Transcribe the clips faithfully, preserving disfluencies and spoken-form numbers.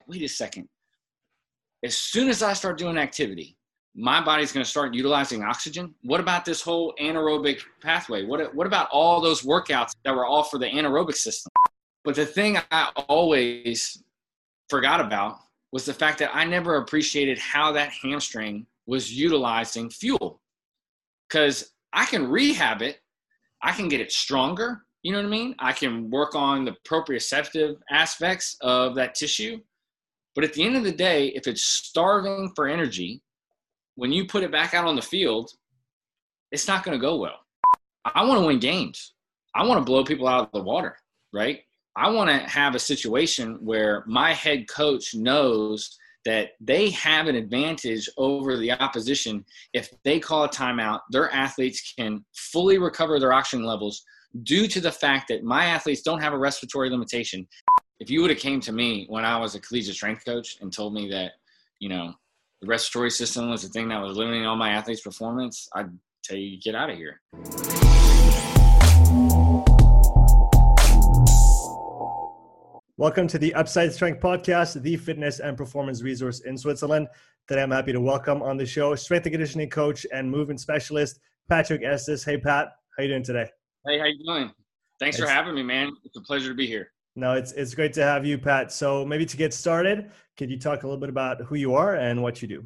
wait a second. As soon as I start doing activity, my body's going to start utilizing oxygen. What about this whole anaerobic pathway? What, what about all those workouts that were all for the anaerobic system? But the thing I always forgot about was the fact that I never appreciated how that hamstring was utilizing fuel. Because I can rehab it. I can get it stronger. You know what I mean? I can work on the proprioceptive aspects of that tissue. But at the end of the day, if it's starving for energy, when you put it back out on the field, it's not going to go well. I want to win games. I want to blow people out of the water, right? I want to have a situation where my head coach knows that they have an advantage over the opposition. If they call a timeout, their athletes can fully recover their oxygen levels due to the fact that my athletes don't have a respiratory limitation. If you would have came to me when I was a collegiate strength coach and told me that, you know, the respiratory system was the thing that was limiting all my athletes' performance, I'd tell you, get out of here. Welcome to the Upside Strength Podcast, the fitness and performance resource in Switzerland. Today, I'm happy to welcome on the show strength and conditioning coach and movement specialist, Patrick Estes. Hey, Pat. How you doing today? Hey, how you doing? Thanks it's, for having me, man. It's a pleasure to be here. No, it's it's great to have you, Pat. So maybe to get started, could you talk a little bit about who you are and what you do?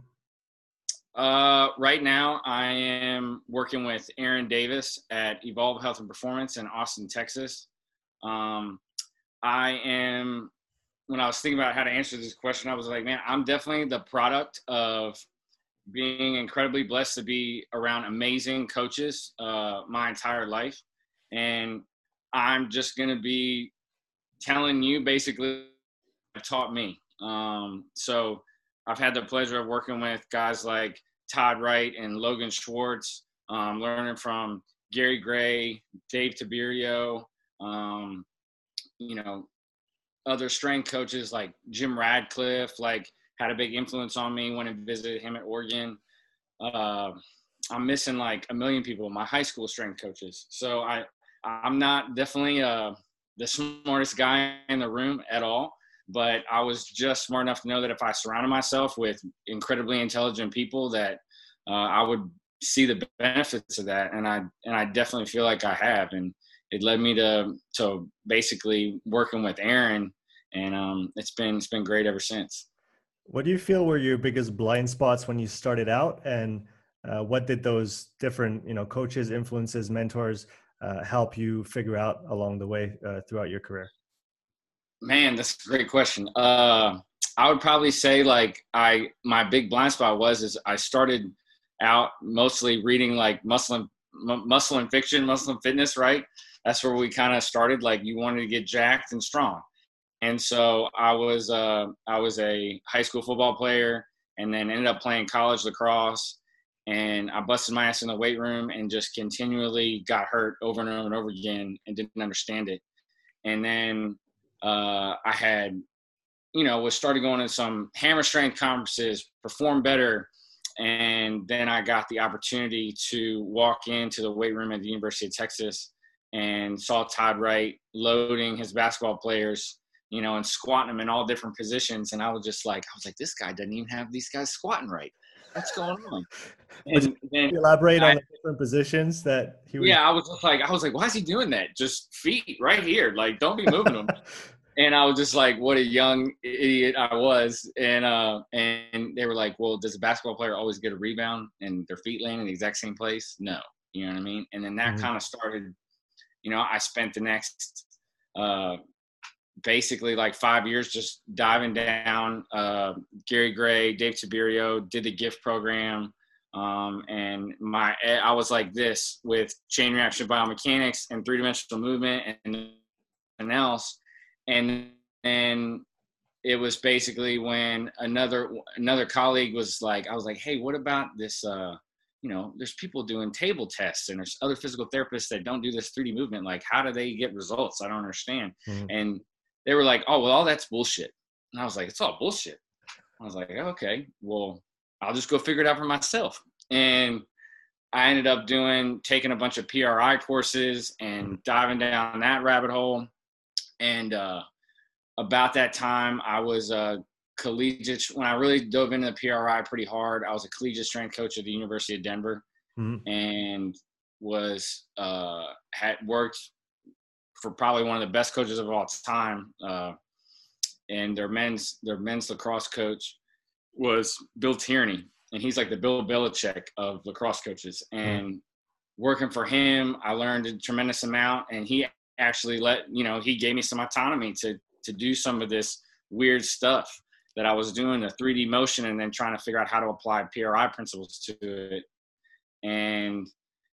Uh, right now, I am working with Aaron Davis at Evolve Health and Performance in Austin, Texas. Um, I am, when I was thinking about how to answer this question, I was like, man, I'm definitely the product of being incredibly blessed to be around amazing coaches uh, my entire life. And I'm just going to be telling you basically what taught me. Um, so I've had the pleasure of working with guys like Todd Wright and Logan Schwartz, um, learning from Gary Gray, Dave Tiberio, um, you know, other strength coaches like Jim Radcliffe, like had a big influence on me when I visited him at Oregon. Uh, I'm missing like a million people, my high school strength coaches. So I, I'm not definitely uh, the smartest guy in the room at all, but I was just smart enough to know that if I surrounded myself with incredibly intelligent people that uh, I would see the benefits of that. And I, and I definitely feel like I have. And it led me to, to basically working with Aaron, and um, it's been, it's been great ever since. What do you feel were your biggest blind spots when you started out, and uh, what did those different, you know, coaches, influences, mentors uh, help you figure out along the way uh, throughout your career? Man, that's a great question. Uh, I would probably say like I, my big blind spot was, is I started out mostly reading like muscle and, m- muscle and fiction, muscle and fitness, right? That's where we kind of started. Like you wanted to get jacked and strong. And so I was, uh, I was a high school football player and then ended up playing college lacrosse, and I busted my ass in the weight room and just continually got hurt over and over and over again and didn't understand it. And then uh, I had, you know, was started going to some hammer strength conferences, perform better. And then I got the opportunity to walk into the weight room at the University of Texas and saw Todd Wright loading his basketball players, you know, and squatting them in all different positions. And I was just like, I was like, this guy doesn't even have these guys squatting right. What's going on? And then elaborate I, on the different positions that he was. Yeah, I was just like, I was like, why is he doing that? Just feet right here. Like, don't be moving them. And I was just like, what a young idiot I was. And uh, and they were like, well, does a basketball player always get a rebound and their feet land in the exact same place? No. You know what I mean? And then that mm-hmm. kind of started, you know, I spent the next uh, basically like five years just diving down uh, Gary Gray, Dave Tiberio, did the GIFT program. Um, and my, I was like this with chain reaction biomechanics and three-dimensional movement and anything else. And then it was basically when another, another colleague was like, I was like, hey, what about this, uh, you know, there's people doing table tests and there's other physical therapists that don't do this three D movement. Like, how do they get results? I don't understand. Mm-hmm. And they were like, oh, well, all that's bullshit. And I was like, it's all bullshit. I was like, okay, well, I'll just go figure it out for myself. And I ended up doing, taking a bunch of P R I courses and diving down that rabbit hole. And uh, about that time, I was uh, collegiate, when I really dove into the P R I pretty hard, I was a collegiate strength coach at the University of Denver, mm-hmm. and was uh, had worked for probably one of the best coaches of all time. Uh, and their men's their men's lacrosse coach was Bill Tierney, and he's like the Bill Belichick of lacrosse coaches. And mm-hmm. working for him, I learned a tremendous amount, and he actually let you know he gave me some autonomy to to do some of this weird stuff that I was doing, the three D motion, and then trying to figure out how to apply P R I principles to it. And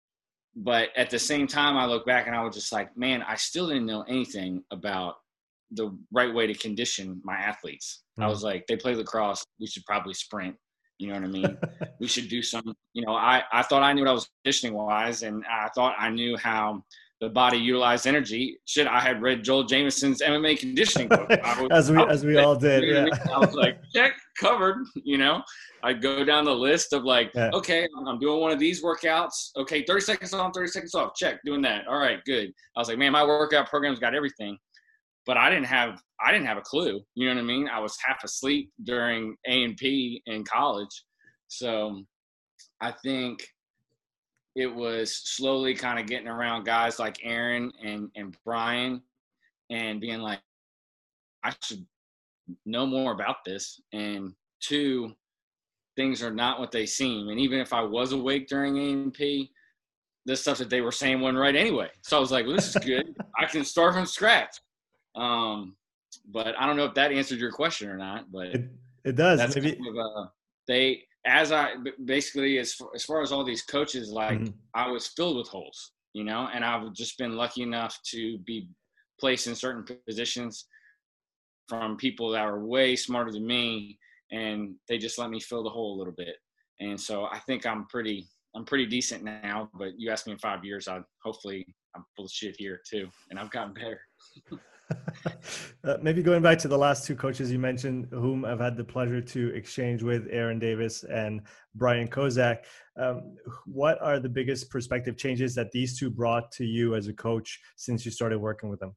but at the same time, I look back and I was just like, man, I still didn't know anything about the right way to condition my athletes. Mm-hmm. I was like, they play lacrosse, we should probably sprint. You know what I mean? We should do some, you know, I, I thought I knew what I was conditioning wise, and I thought I knew how the body utilized energy. Shit, I had read Joel Jamieson's M M A conditioning book. Was, as we as we all did. You know yeah. I, mean? I was like, check, covered. You know, I'd go down the list of like, yeah. okay, I'm doing one of these workouts. Okay, thirty seconds on, thirty seconds off. Check, doing that. All right, good. I was like, man, my workout program's got everything, but I didn't have I didn't have a clue. You know what I mean? I was half asleep during A and P in college, so I think it was slowly kind of getting around guys like Aaron and, and Brian and being like, I should know more about this. And two, things are not what they seem. And even if I was awake during A and P, the stuff that they were saying wasn't right anyway. So I was like, well, this is good. I can start from scratch. Um, but I don't know if that answered your question or not, but it, it does. That's Maybe. kind of, uh, they, as I basically, as far, as far as all these coaches, like mm-hmm. I was filled with holes, you know, and I've just been lucky enough to be placed in certain positions from people that are way smarter than me, and they just let me fill the hole a little bit. And so I think I'm pretty, I'm pretty decent now, but you asked me in five years, I hopefully I'm full of shit here too. And I've gotten better. uh, maybe going back to the last two coaches you mentioned, whom I've had the pleasure to exchange with, Aaron Davis and Brian Kozak. Um, what are the biggest perspective changes that these two brought to you as a coach since you started working with them?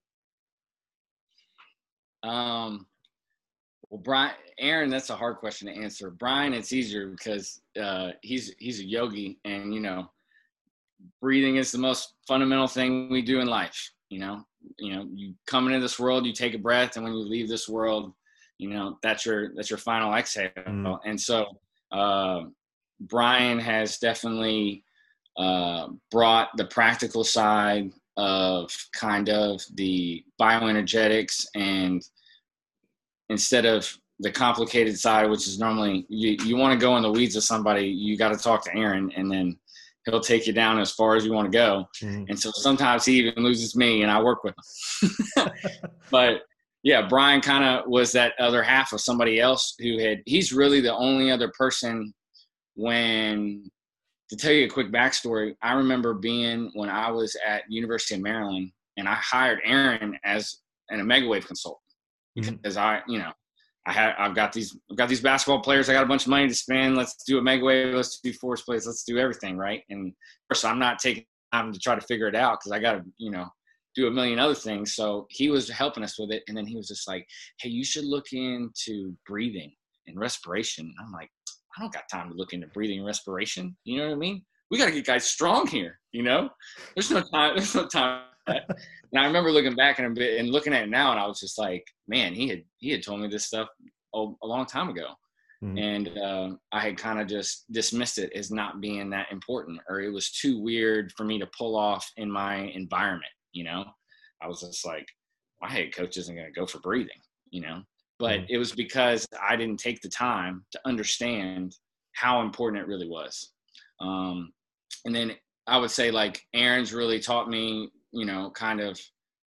Um, well, Brian, Aaron, that's a hard question to answer. Brian, it's easier because uh, he's he's a yogi, and you know, breathing is the most fundamental thing we do in life. You know, you know, you come into this world, you take a breath, and when you leave this world, you know, that's your that's your final exhale. Mm. And so, uh, Brian has definitely uh, brought the practical side of kind of the bioenergetics, and instead of the complicated side, which is normally you, you want to go in the weeds with somebody, you got to talk to Aaron, and then he'll take you down as far as you want to go. Mm. And so sometimes he even loses me and I work with him. But yeah, Brian kind of was that other half of somebody else who had, he's really the only other person when, to tell you a quick backstory, I remember being when I was at University of Maryland, and I hired Aaron as an Omega Wave consultant mm-hmm. because I, you know, I had, I've got these, I've got these basketball players. I got a bunch of money to spend. Let's do Omega Wave. Let's do force plays. Let's do everything. Right. And of course I'm not taking time to try to figure it out, because I got to, you know, do a million other things. So he was helping us with it. And then he was just like, hey, you should look into breathing and respiration. And I'm like, I don't got time to look into breathing and respiration. You know what I mean? We got to get guys strong here. You know, there's no time. There's no time for that. And I remember looking back and, and looking at it now, and I was just like, man, he had, he had told me this stuff a, a long time ago. Mm-hmm. And uh, I had kind of just dismissed it as not being that important, or it was too weird for me to pull off in my environment. You know, I was just like, my head coach isn't going to go for breathing, you know, but mm-hmm. it was because I didn't take the time to understand how important it really was. Um, and then I would say, like, Aaron's really taught me, you know, kind of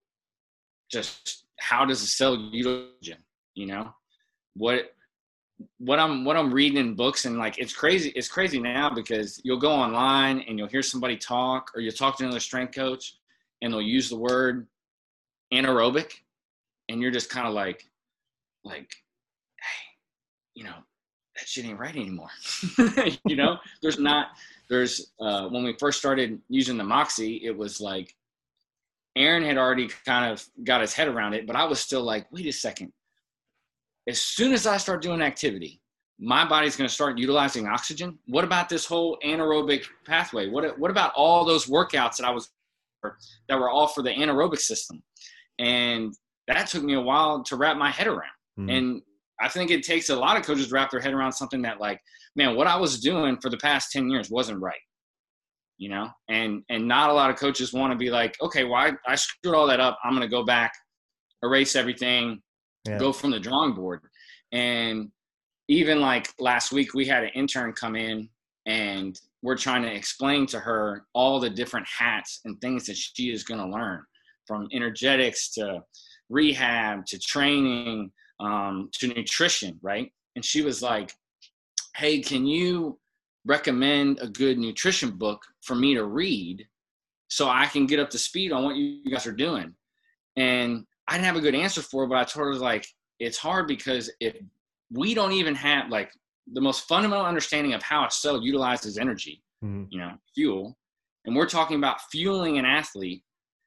just how does a cell utilize, you know, what, what I'm, what I'm reading in books, and like, it's crazy. It's crazy now because you'll go online and you'll hear somebody talk, or you'll talk to another strength coach and they'll use the word anaerobic, and you're just kind of like, like, hey, you know, that shit ain't right anymore. You know, there's not, there's, uh, when we first started using the Moxy, it was like, Aaron had already kind of got his head around it, but I was still like, wait a second. as soon as I start doing activity, my body's going to start utilizing oxygen. What about this whole anaerobic pathway? What, what about all those workouts that I was, that were all for the anaerobic system? And that took me a while to wrap my head around. Mm-hmm. And I think it takes a lot of coaches to wrap their head around something that, like, man, what I was doing for the past ten years wasn't right, you know? And, and not a lot of coaches want to be like, okay, well, I, I screwed all that up. I'm going to go back, erase everything, yeah. go from the drawing board. And even like last week, we had an intern come in and we're trying to explain to her all the different hats and things that she is going to learn, from energetics to rehab to training, um, to nutrition. Right. And she was like, hey, can you recommend a good nutrition book for me to read so I can get up to speed on what you guys are doing? And I didn't have a good answer for her, but I told her, like, it's hard because if we don't even have like the most fundamental understanding of how a cell utilizes energy, mm-hmm. you know, fuel, and we're talking about fueling an athlete,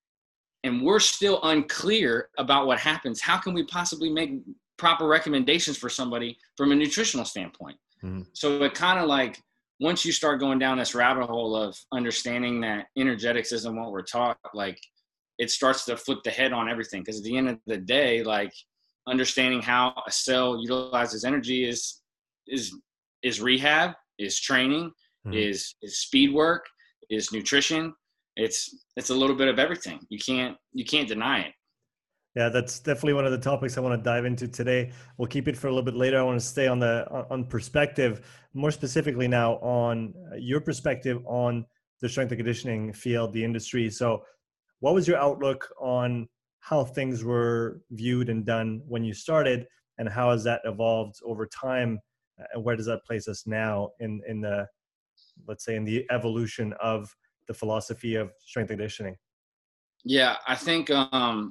and we're still unclear about what happens, how can we possibly make proper recommendations for somebody from a nutritional standpoint? Mm-hmm. So it kind of like, once you start going down this rabbit hole of understanding that energetics isn't what we're taught, like, it starts to flip the head on everything. Because at the end of the day, like, understanding how a cell utilizes energy is is is rehab, is training, mm-hmm. is is speed work, is nutrition. It's it's a little bit of everything. You can't you can't deny it. Yeah, that's definitely one of the topics I want to dive into today. We'll keep it for a little bit later. I want to stay on the on perspective, more specifically now on your perspective on the strength and conditioning field, the industry. So what was your outlook on how things were viewed and done when you started, and how has that evolved over time, and where does that place us now in in the, let's say, in the evolution of the philosophy of strength and conditioning? Yeah, I think um,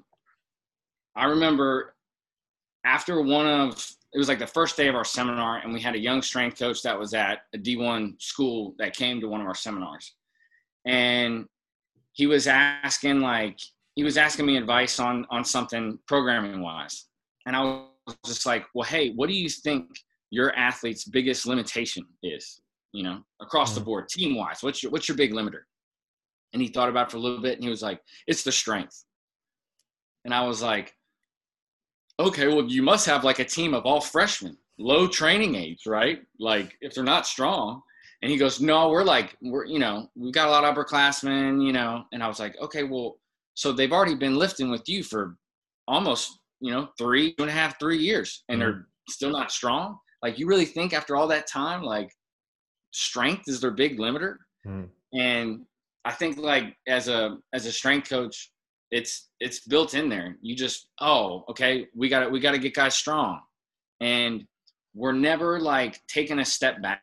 I remember after one of, it was like the first day of our seminar, and we had a young strength coach that was at a D one school that came to one of our seminars, and he was asking like, he was asking me advice on, on something programming wise. And I was just like, well, hey, what do you think your athlete's biggest limitation is, you know, across mm-hmm. the board, team wise? What's your, what's your big limiter? And he thought about it for a little bit, and he was like, it's the strength. And I was like, okay, well, you must have like a team of all freshmen, low training age, right? Like, if they're not strong. And he goes, no, we're like, we're, you know, we've got a lot of upperclassmen, you know. And I was like, okay, well, so they've already been lifting with you for almost, you know, three, two and a half, three years, and mm-hmm. they're still not strong. Like, you really think after all that time, like, strength is their big limiter? Mm-hmm. And I think, like, as a as a strength coach, it's it's built in there. You just, oh, okay, we got to we got to get guys strong, and we're never like taking a step back.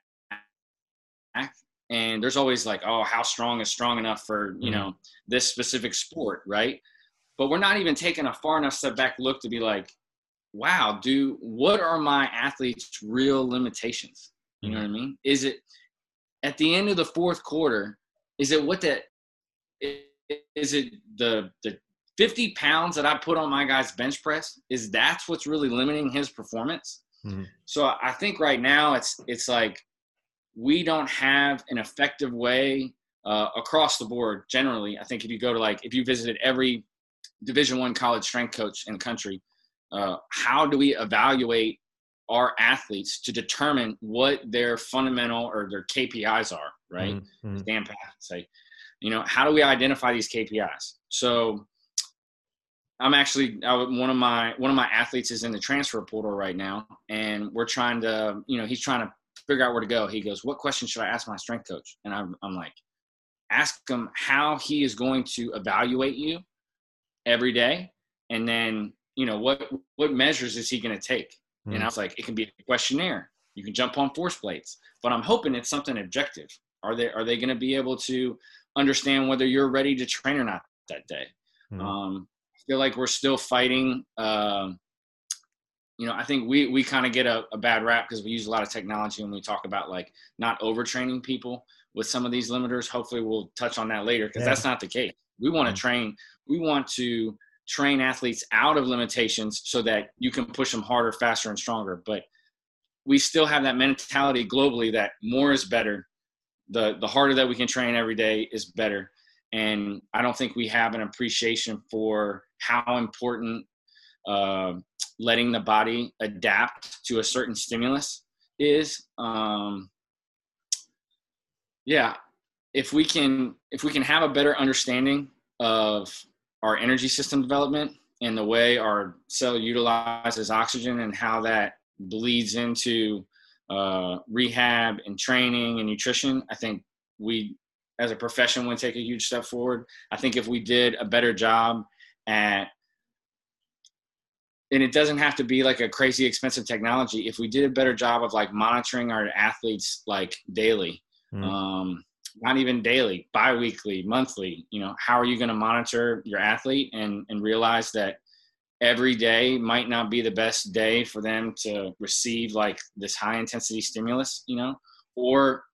And there's always like, oh, how strong is strong enough for, you know, this specific sport, right? But we're not even taking a far enough step back look to be like, wow, do what are my athletes' real limitations? You know what I mean? Is it at the end of the fourth quarter, is it what that is it the the fifty pounds that I put on my guy's bench press? Is that's what's really limiting his performance? Mm-hmm. So I think right now it's it's like, we don't have an effective way uh, across the board. Generally, I think if you go to like, if you visited every Division One college strength coach in the country, uh, how do we evaluate our athletes to determine what their fundamental or their K P Is are, right? Mm-hmm. Dan Path say, you know, how do we identify these K P Is? So I'm actually, I, one of my, one of my athletes is in the transfer portal right now, and we're trying to, you know, he's trying to figure out where to go. He goes, what question should I ask my strength coach? And I'm, I'm like, ask him how he is going to evaluate you every day. And then, you know, what, what measures is he going to take? Mm. And I was like, it can be a questionnaire. You can jump on force plates, but I'm hoping it's something objective. Are they, are they going to be able to understand whether you're ready to train or not that day? Mm. Um, I feel like we're still fighting, um, you know, I think we, we kind of get a, a bad rap because we use a lot of technology when we talk about like not overtraining people with some of these limiters. Hopefully we'll touch on that later, because yeah. that's not the case. We want to mm-hmm. train. We want to train athletes out of limitations so that you can push them harder, faster, and stronger. But we still have that mentality globally that more is better. The, the harder that we can train every day is better. And I don't think we have an appreciation for how important uh, letting the body adapt to a certain stimulus is. Um, yeah, if we can, if we can have a better understanding of our energy system development and the way our cell utilizes oxygen and how that bleeds into uh, rehab and training and nutrition, I think we, as a profession, would take a huge step forward. I think if we did a better job at, and it doesn't have to be like a crazy expensive technology, if we did a better job of like monitoring our athletes like daily, mm. um, not even daily, bi-weekly, monthly, you know, how are you going to monitor your athlete and, and realize that every day might not be the best day for them to receive like this high intensity stimulus, you know, or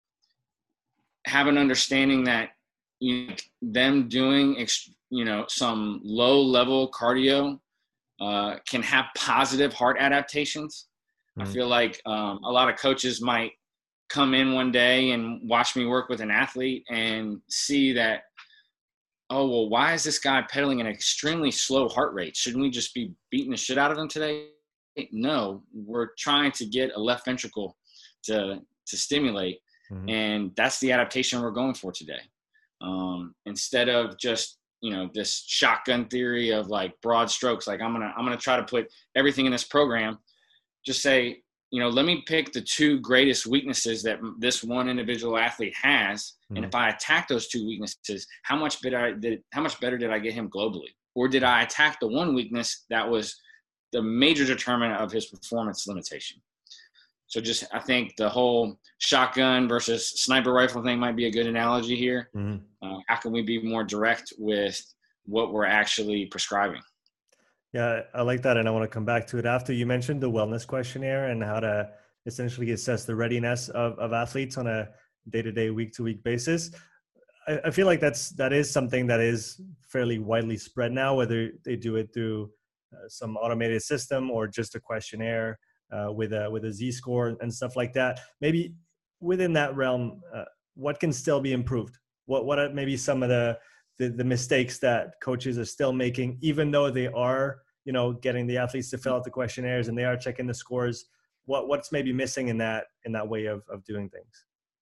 have an understanding that, you know, them doing, you know, some low level cardio uh, can have positive heart adaptations. Mm-hmm. I feel like um, a lot of coaches might come in one day and watch me work with an athlete and see that, oh, well, why is this guy pedaling at an extremely slow heart rate? Shouldn't we just be beating the shit out of him today? No, we're trying to get a left ventricle to to stimulate. Mm-hmm. And that's the adaptation we're going for today. Um, instead of just, you know, this shotgun theory of like broad strokes, like I'm going to, I'm going to try to put everything in this program, just say, you know, let me pick the two greatest weaknesses that this one individual athlete has. Mm-hmm. And if I attack those two weaknesses, how much better I did, how much better did I get him globally? Or did I attack the one weakness that was the major determinant of his performance limitation? So just, I think the whole shotgun versus sniper rifle thing might be a good analogy here. Mm-hmm. Uh, how can we be more direct with what we're actually prescribing? Yeah, I like that. And I want to come back to it after. You mentioned the wellness questionnaire and how to essentially assess the readiness of, of athletes on a day-to-day, week-to-week basis. I, I feel like that's, that is something that is fairly widely spread now, whether they do it through uh, some automated system or just a questionnaire uh, with a, with a Z-score and stuff like that. Maybe within that realm, uh, what can still be improved? What, what are maybe some of the, The, the mistakes that coaches are still making, even though they are, you know, getting the athletes to fill out the questionnaires and they are checking the scores? What what's maybe missing in that in that way of of doing things?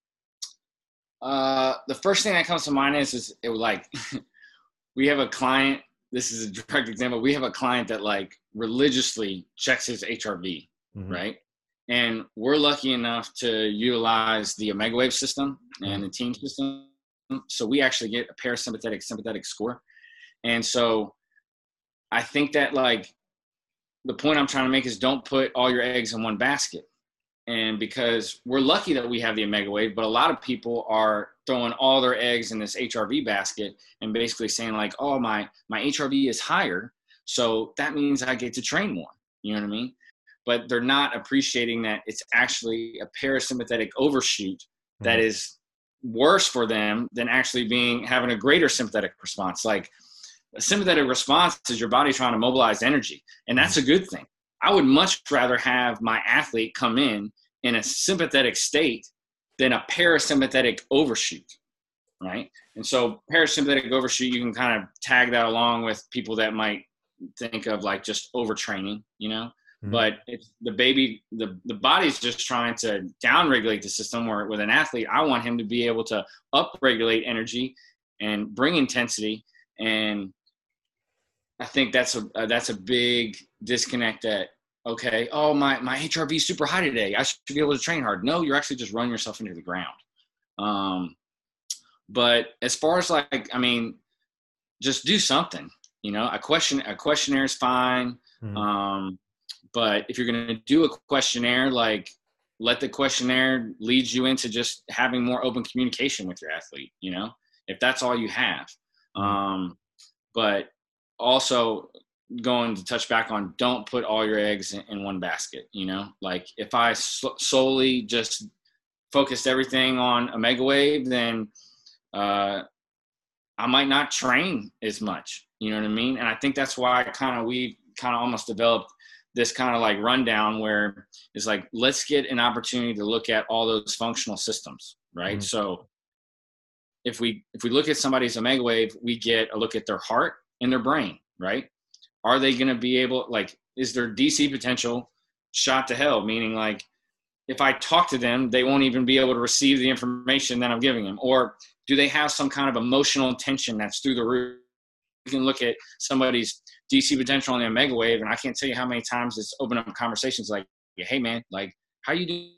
Uh, the first thing that comes to mind is is it like we have a client. This is a direct example. We have a client that like religiously checks his H R V, mm-hmm. right? And we're lucky enough to utilize the OmegaWave system and mm-hmm. the team system. So we actually get a parasympathetic sympathetic score. And so I think that like the point I'm trying to make is don't put all your eggs in one basket. And because we're lucky that we have the OmegaWave, but a lot of people are throwing all their eggs in this H R V basket and basically saying like, oh, my, my H R V is higher, so that means I get to train more. You know what I mean? But they're not appreciating that it's actually a parasympathetic overshoot mm-hmm. that is worse for them than actually being having a greater sympathetic response. Like a sympathetic response is your body trying to mobilize energy, and that's a good thing. I would much rather have my athlete come in in a sympathetic state than a parasympathetic overshoot, right? And so parasympathetic overshoot, you can kind of tag that along with people that might think of like just overtraining, you know. Mm-hmm. But it's the baby, the, the body's just trying to down-regulate the system. Where with an athlete, I want him to be able to up-regulate energy and bring intensity. And I think that's a uh, that's a big disconnect. That okay, oh my my H R V is super high today, I should be able to train hard. No, you're actually just running yourself into the ground. Um, but as far as like, I mean, just do something. You know, a question a questionnaire is fine. Mm-hmm. Um, But if you're going to do a questionnaire, like let the questionnaire lead you into just having more open communication with your athlete, you know, if that's all you have. Um, but also going to touch back on, don't put all your eggs in, in one basket, you know, like if I so- solely just focused everything on OmegaWave, then uh, I might not train as much. You know what I mean? And I think that's why kind of we kind of almost developed this kind of like rundown where it's like, let's get an opportunity to look at all those functional systems, right? Mm-hmm. So if we if we look at somebody's omega wave, we get a look at their heart and their brain, right? Are they going to be able, like, is their D C potential shot to hell? Meaning, like, if I talk to them, they won't even be able to receive the information that I'm giving them. Or do they have some kind of emotional tension that's through the roof? You can look at somebody's D C potential on the omega wave, and I can't tell you how many times it's opened up conversations like, hey, man, like, how you doing?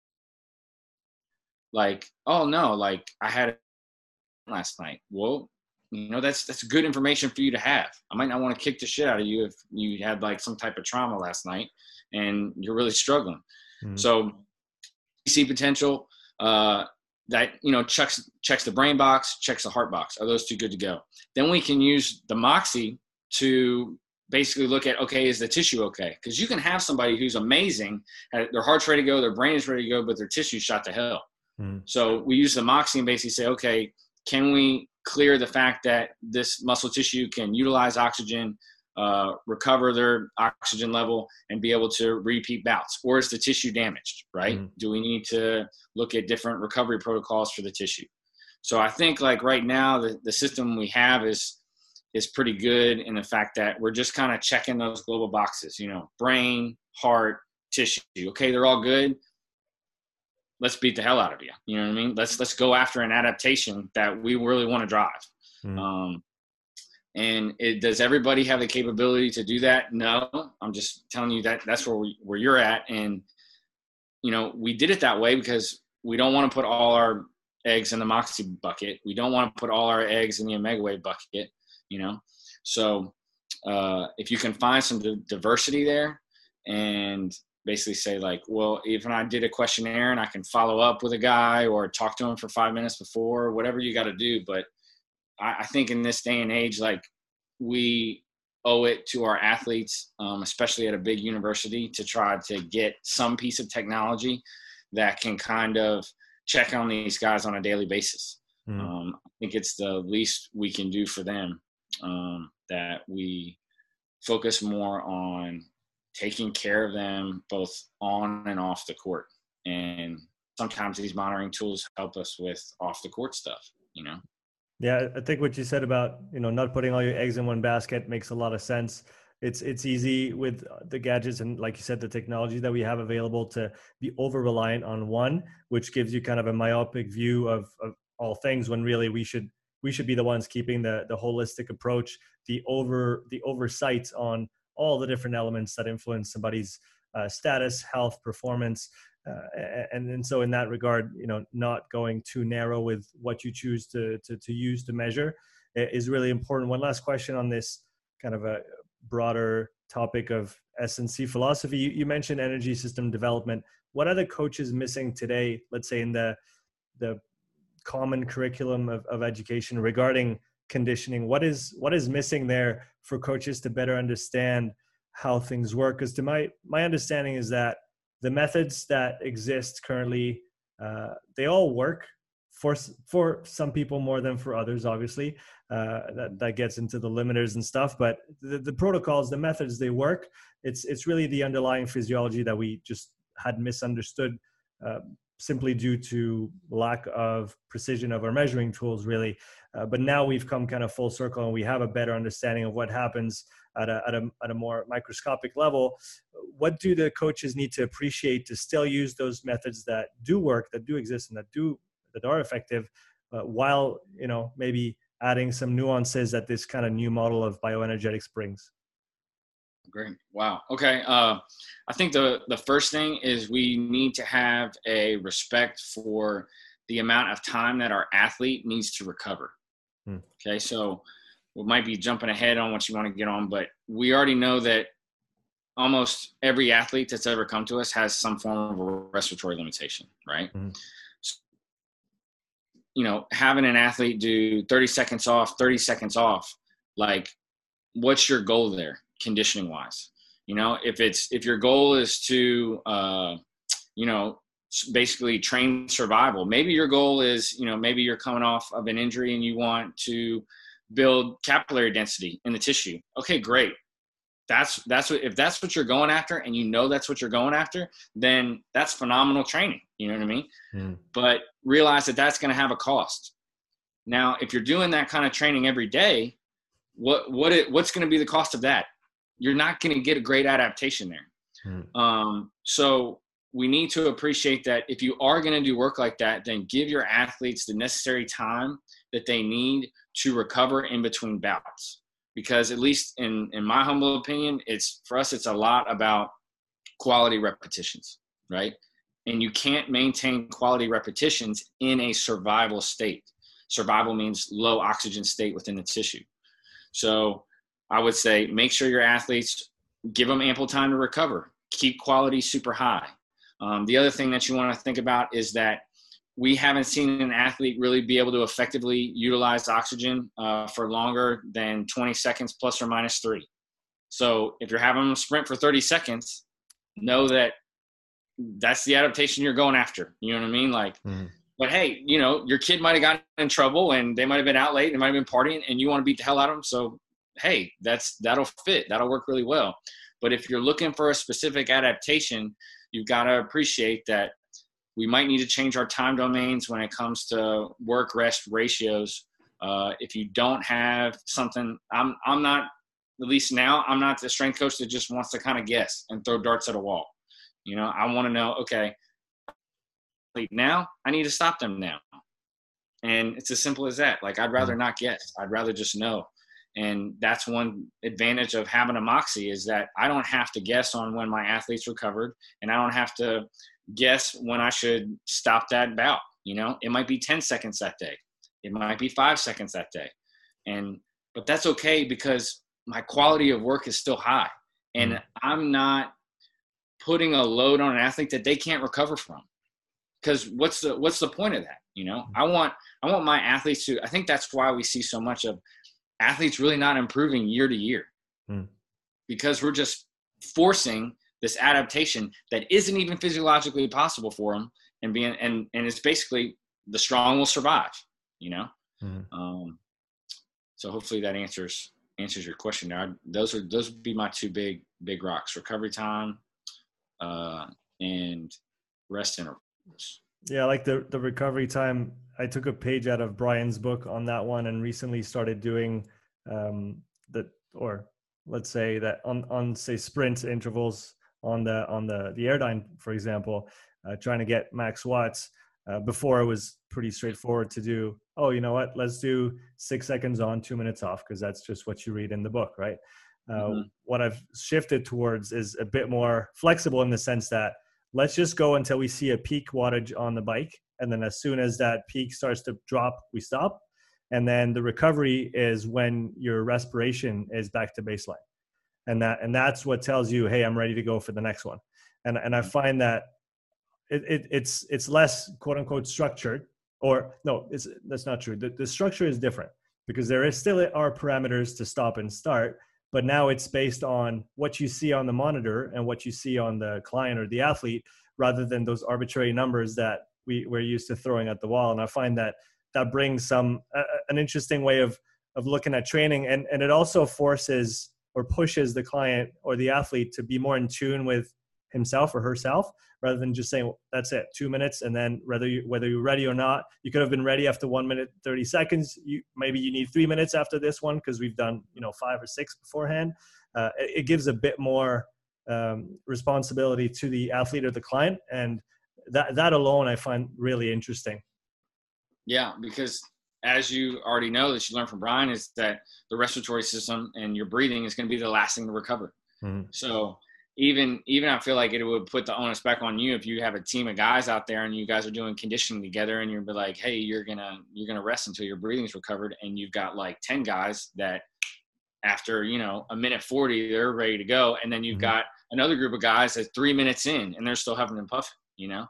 Like, oh, no, like, I had it last night. Well, you know, that's that's good information for you to have. I might not want to kick the shit out of you if you had, like, some type of trauma last night and you're really struggling. Mm-hmm. So D C potential, uh, that, you know, checks checks the brain box, checks the heart box. Are those two good to go? Then we can use the Moxy to basically look at, okay, is the tissue okay? Because you can have somebody who's amazing, their heart's ready to go, their brain is ready to go, but their tissue's shot to hell. Mm. So we use the Moxy and basically say, okay, can we clear the fact that this muscle tissue can utilize oxygen, uh, recover their oxygen level, and be able to repeat bouts? Or is the tissue damaged, right? Mm. Do we need to look at different recovery protocols for the tissue? So I think, like, right now, the, the system we have is is pretty good in the fact that we're just kind of checking those global boxes, you know, brain, heart, tissue. Okay, they're all good. Let's beat the hell out of you. You know what I mean? Let's let's go after an adaptation that we really want to drive. Mm. Um, and it, does everybody have the capability to do that? No. I'm just telling you that that's where we, where you're at. And, you know, we did it that way because we don't want to put all our eggs in the Moxy bucket. We don't want to put all our eggs in the omega wave bucket, you know? So uh, if you can find some d- diversity there and basically say, like, well, even I did a questionnaire and I can follow up with a guy or talk to him for five minutes before, whatever you got to do. But I, I think in this day and age, like, we owe it to our athletes, um, especially at a big university, to try to get some piece of technology that can kind of check on these guys on a daily basis. Mm. Um, I think it's the least we can do for them, um, that we focus more on taking care of them both on and off the court. And sometimes these monitoring tools help us with off the court stuff, you know? Yeah, I think what you said about, you know, not putting all your eggs in one basket makes a lot of sense. It's it's easy with the gadgets and, like you said, the technology that we have available to be over reliant on one, which gives you kind of a myopic view of, of all things, when really we should we should be the ones keeping the the holistic approach, the over the oversight on all the different elements that influence somebody's uh, status, health, performance. Uh, and, and so in that regard, you know, not going too narrow with what you choose to, to, to use to measure is really important. One last question on this kind of a broader topic of S and C philosophy. You, you mentioned energy system development. What are the coaches missing today, let's say in the, the common curriculum of, of education regarding conditioning? What is, what is missing there for coaches to better understand how things work? Because to my, my understanding is that the methods that exist currently, uh, they all work for for some people more than for others, obviously. Uh, that, that gets into the limiters and stuff, but the, the protocols, the methods, they work. It's it's really the underlying physiology that we just had misunderstood, uh, simply due to lack of precision of our measuring tools, really. Uh, but now we've come kind of full circle and we have a better understanding of what happens at a, at a, at a more microscopic level. What do the coaches need to appreciate to still use those methods that do work, that do exist, and that do that are effective, uh, while, you know, maybe adding some nuances that this kind of new model of bioenergetics brings? Great. Wow. Okay. Uh, I think the, the first thing is we need to have a respect for the amount of time that our athlete needs to recover. Hmm. Okay. So we might be jumping ahead on what you want to get on, but we already know that almost every athlete that's ever come to us has some form of a respiratory limitation, right? Mm-hmm. So, you know, having an athlete do thirty seconds off, thirty seconds off, like, what's your goal there conditioning wise? You know, if it's, if your goal is to, uh, you know, basically train survival, maybe your goal is, you know, maybe you're coming off of an injury and you want to build capillary density in the tissue. Okay, great. That's that's what if that's what you're going after, and you know that's what you're going after, then that's phenomenal training. You know what I mean? Mm. But realize that that's going to have a cost. Now, if you're doing that kind of training every day, what what it, what's going to be the cost of that? You're not going to get a great adaptation there. Mm. Um, so we need to appreciate that if you are going to do work like that, then give your athletes the necessary time that they need to recover in between bouts. Because at least in, in my humble opinion, it's for us, it's a lot about quality repetitions, right? And you can't maintain quality repetitions in a survival state. Survival means low oxygen state within the tissue. So I would say make sure your athletes, give them ample time to recover, keep quality super high. Um, the other thing that you want to think about is that we haven't seen an athlete really be able to effectively utilize oxygen uh, for longer than twenty seconds plus or minus three. So if you're having them sprint for thirty seconds, know that that's the adaptation you're going after. You know what I mean? Like, mm. But hey, you know, your kid might have gotten in trouble and they might have been out late, they might have been partying, and you want to beat the hell out of them. So, hey, that's that'll fit. That'll work really well. But if you're looking for a specific adaptation, you've got to appreciate that we might need to change our time domains when it comes to work rest ratios. Uh, if you don't have something, I'm I'm not, at least now, I'm not the strength coach that just wants to kind of guess and throw darts at a wall. You know, I want to know, okay, now I need to stop them now. And it's as simple as that. Like, I'd rather not guess. I'd rather just know. And that's one advantage of having a Moxy, is that I don't have to guess on when my athletes recovered, and I don't have to guess when I should stop that bout. You know, it might be ten seconds that day. It might be five seconds that day. And, but that's okay, because my quality of work is still high, and mm. I'm not putting a load on an athlete that they can't recover from. Because what's the, what's the point of that? You know, I want, I want my athletes to, I think that's why we see so much of athletes really not improving year to year, mm. because we're just forcing this adaptation that isn't even physiologically possible for them, and being, and, and it's basically the strong will survive, you know? Mm-hmm. Um, so hopefully that answers, answers your question there. I, those are, those would be my two big, big rocks: recovery time, uh, and rest intervals. Yeah. Like the, the recovery time, I took a page out of Brian's book on that one, and recently started doing, um, the, or let's say that on, on say sprint intervals, on the on the the Airdyne, for example, uh, trying to get max watts. Uh, before, it was pretty straightforward to do, oh, you know what, let's do six seconds on, two minutes off, because that's just what you read in the book, right? Uh, mm-hmm. What I've shifted towards is a bit more flexible, in the sense that let's just go until we see a peak wattage on the bike, and then as soon as that peak starts to drop, we stop. And then the recovery is when your respiration is back to baseline. And that, and that's what tells you, hey, I'm ready to go for the next one. And and I find that it, it it's it's less quote unquote structured, or no, it's that's not true. The, the structure is different, because there is still are parameters to stop and start, but now it's based on what you see on the monitor and what you see on the client or the athlete, rather than those arbitrary numbers that we we're used to throwing at the wall. And I find that that brings some uh, an interesting way of of looking at training, and and it also forces or pushes the client or the athlete to be more in tune with himself or herself, rather than just saying, well, that's it, two minutes. And then whether you, whether you're ready or not, you could have been ready after one minute, thirty seconds. You, maybe you need three minutes after this one, because we've done, you know, five or six beforehand. Uh, it, it gives a bit more um, responsibility to the athlete or the client. And that, that alone, I find really interesting. Yeah, because as you already know, that you learned from Brian, is that the respiratory system and your breathing is going to be the last thing to recover. Mm-hmm. So even, even I feel like it would put the onus back on you if you have a team of guys out there and you guys are doing conditioning together, and you're be like, hey, you're going to, you're going to rest until your breathing's recovered. And you've got like ten guys that after, you know, a minute forty, they're ready to go. And then you've mm-hmm. got another group of guys that's three minutes in and they're still having them puff, you know?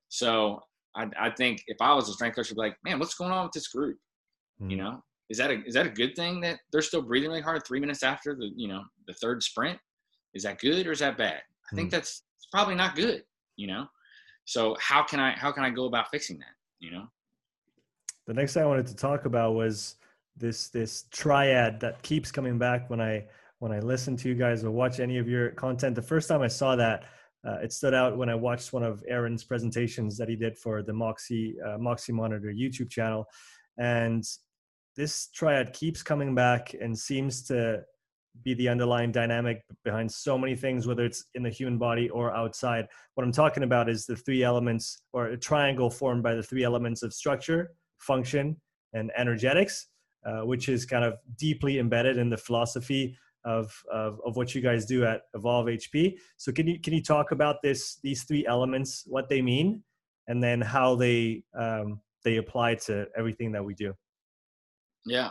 So I, I think if I was a strength coach, I'd be like, man, what's going on with this group? Mm. You know, is that a, is that a good thing that they're still breathing really hard three minutes after the, you know, the third sprint? Is that good or is that bad? I think mm. that's probably not good, you know? So how can I, how can I go about fixing that? You know? The next thing I wanted to talk about was this this triad that keeps coming back when I when I listen to you guys or watch any of your content. The first time I saw that, uh, it stood out when I watched one of Aaron's presentations that he did for the Moxy uh, Moxy Monitor YouTube channel, and this triad keeps coming back and seems to be the underlying dynamic behind so many things, whether it's in the human body or outside. What I'm talking about is the three elements, or a triangle formed by the three elements of structure, function, and energetics, uh, which is kind of deeply embedded in the philosophy of, of, of what you guys do at Evolve H P. So can you, can you talk about this, these three elements, what they mean, and then how they, um, they apply to everything that we do? Yeah.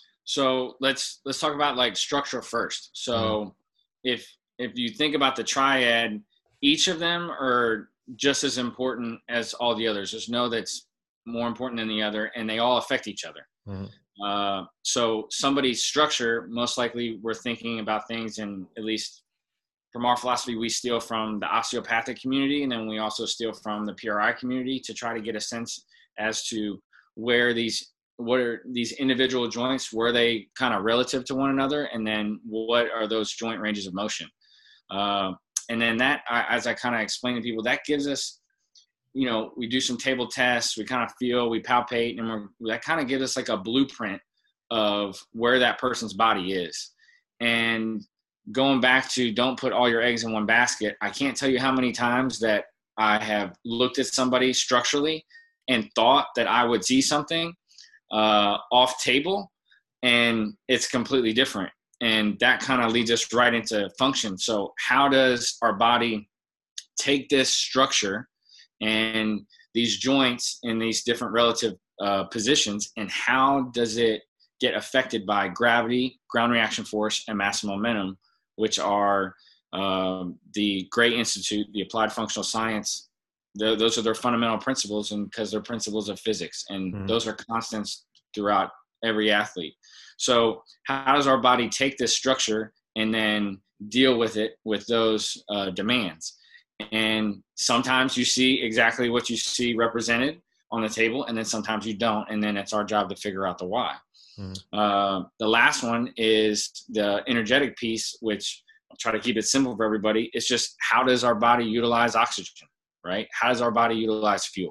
So let's let's talk about like structure first. So mm-hmm. if if you think about the triad, each of them are just as important as all the others. There's no that's more important than the other, and they all affect each other. Mm-hmm. Uh, so somebody's structure, most likely we're thinking about things, and at least from our philosophy, we steal from the osteopathic community, and then we also steal from the P R I community to try to get a sense as to where these what are these individual joints, were they kind of relative to one another? And then what are those joint ranges of motion? Uh, and then that, as I kind of explain to people, that gives us, you know, we do some table tests, we kind of feel, we palpate, and we're, that kind of gives us like a blueprint of where that person's body is. And going back to don't put all your eggs in one basket, I can't tell you how many times that I have looked at somebody structurally and thought that I would see something uh, off table, and it's completely different. And that kind of leads us right into function. So how does our body take this structure and these joints in these different relative uh, positions, and how does it get affected by gravity, ground reaction force, and mass and momentum, which are um, the Gray Institute, the Applied Functional Science. The, those are their fundamental principles, and because they're principles of physics, and mm-hmm. those are constants throughout every athlete. So how does our body take this structure and then deal with it with those uh, demands? And sometimes you see exactly what you see represented on the table, and then sometimes you don't, and then it's our job to figure out the why. Mm-hmm. Uh, the last one is the energetic piece, which I'll try to keep it simple for everybody. It's just, how does our body utilize oxygen? Right? How does our body utilize fuel?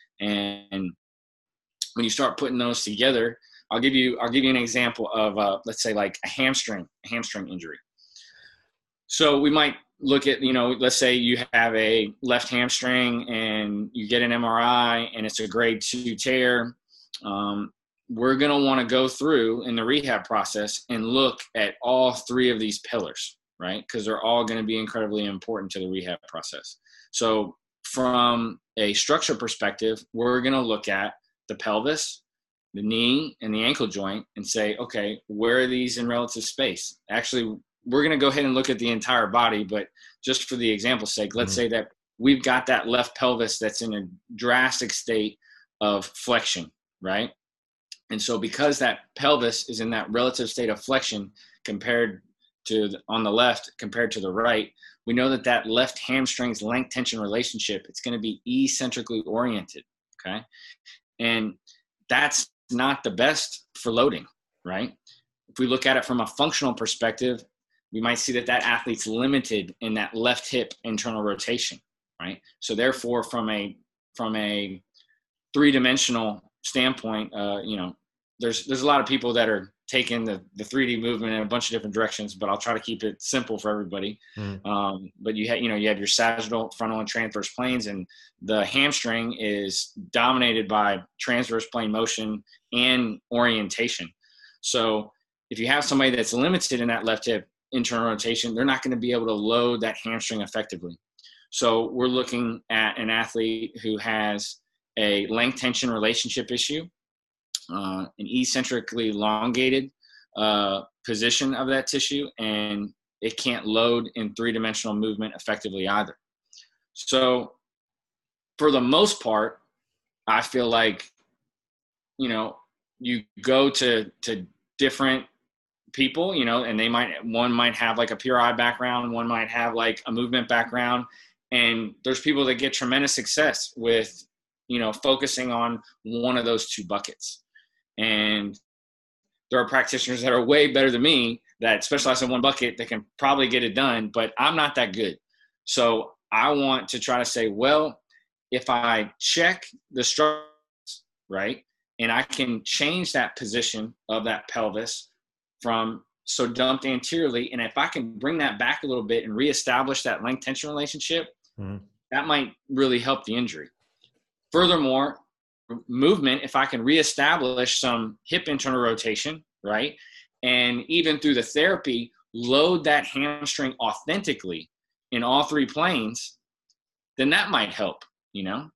And when you start putting those together, I'll give you, I'll give you an example of, uh, let's say like a hamstring, a hamstring injury. So we might look at, you know, let's say you have a left hamstring and you get an M R I and it's a grade two tear. Um, we're going to want to go through in the rehab process and look at all three of these pillars, right? Because they're all going to be incredibly important to the rehab process. So from a structure perspective, we're going to look at the pelvis, the knee, and the ankle joint and say, okay, where are these in relative space? Actually, we're going to go ahead and look at the entire body, but just for the example's sake, let's mm-hmm. say that we've got that left pelvis that's in a drastic state of flexion, right? And so because that pelvis is in that relative state of flexion compared to the, on the left compared to the right, we know that that left hamstring's length tension relationship, it's going to be eccentrically oriented, okay? And that's not the best for loading, right? If we look at it from a functional perspective, we might see that that athlete's limited in that left hip internal rotation, right? So therefore, from a from a three-dimensional standpoint, uh, you know, there's there's a lot of people that are taking the, the three D movement in a bunch of different directions, but I'll try to keep it simple for everybody. Mm. Um, but you have, you know, you have your sagittal, frontal, and transverse planes, and the hamstring is dominated by transverse plane motion and orientation. So if you have somebody that's limited in that left hip internal rotation, they're not going to be able to load that hamstring effectively. So we're looking at an athlete who has a length tension relationship issue, uh, an eccentrically elongated uh, position of that tissue, and it can't load in three-dimensional movement effectively either. So for the most part, I feel like, you know, you go to, to different people, you know, and they might, one might have like a P R I background, one might have like a movement background. And there's people that get tremendous success with, you know, focusing on one of those two buckets. And there are practitioners that are way better than me that specialize in one bucket that can probably get it done, but I'm not that good. So I want to try to say, well, if I check the structure, right, and I can change that position of that pelvis from so dumped anteriorly, and if I can bring that back a little bit and reestablish that length tension relationship, mm-hmm. that might really help the injury. Furthermore, movement, if I can reestablish some hip internal rotation, right, and even through the therapy, load that hamstring authentically in all three planes, then that might help, you know.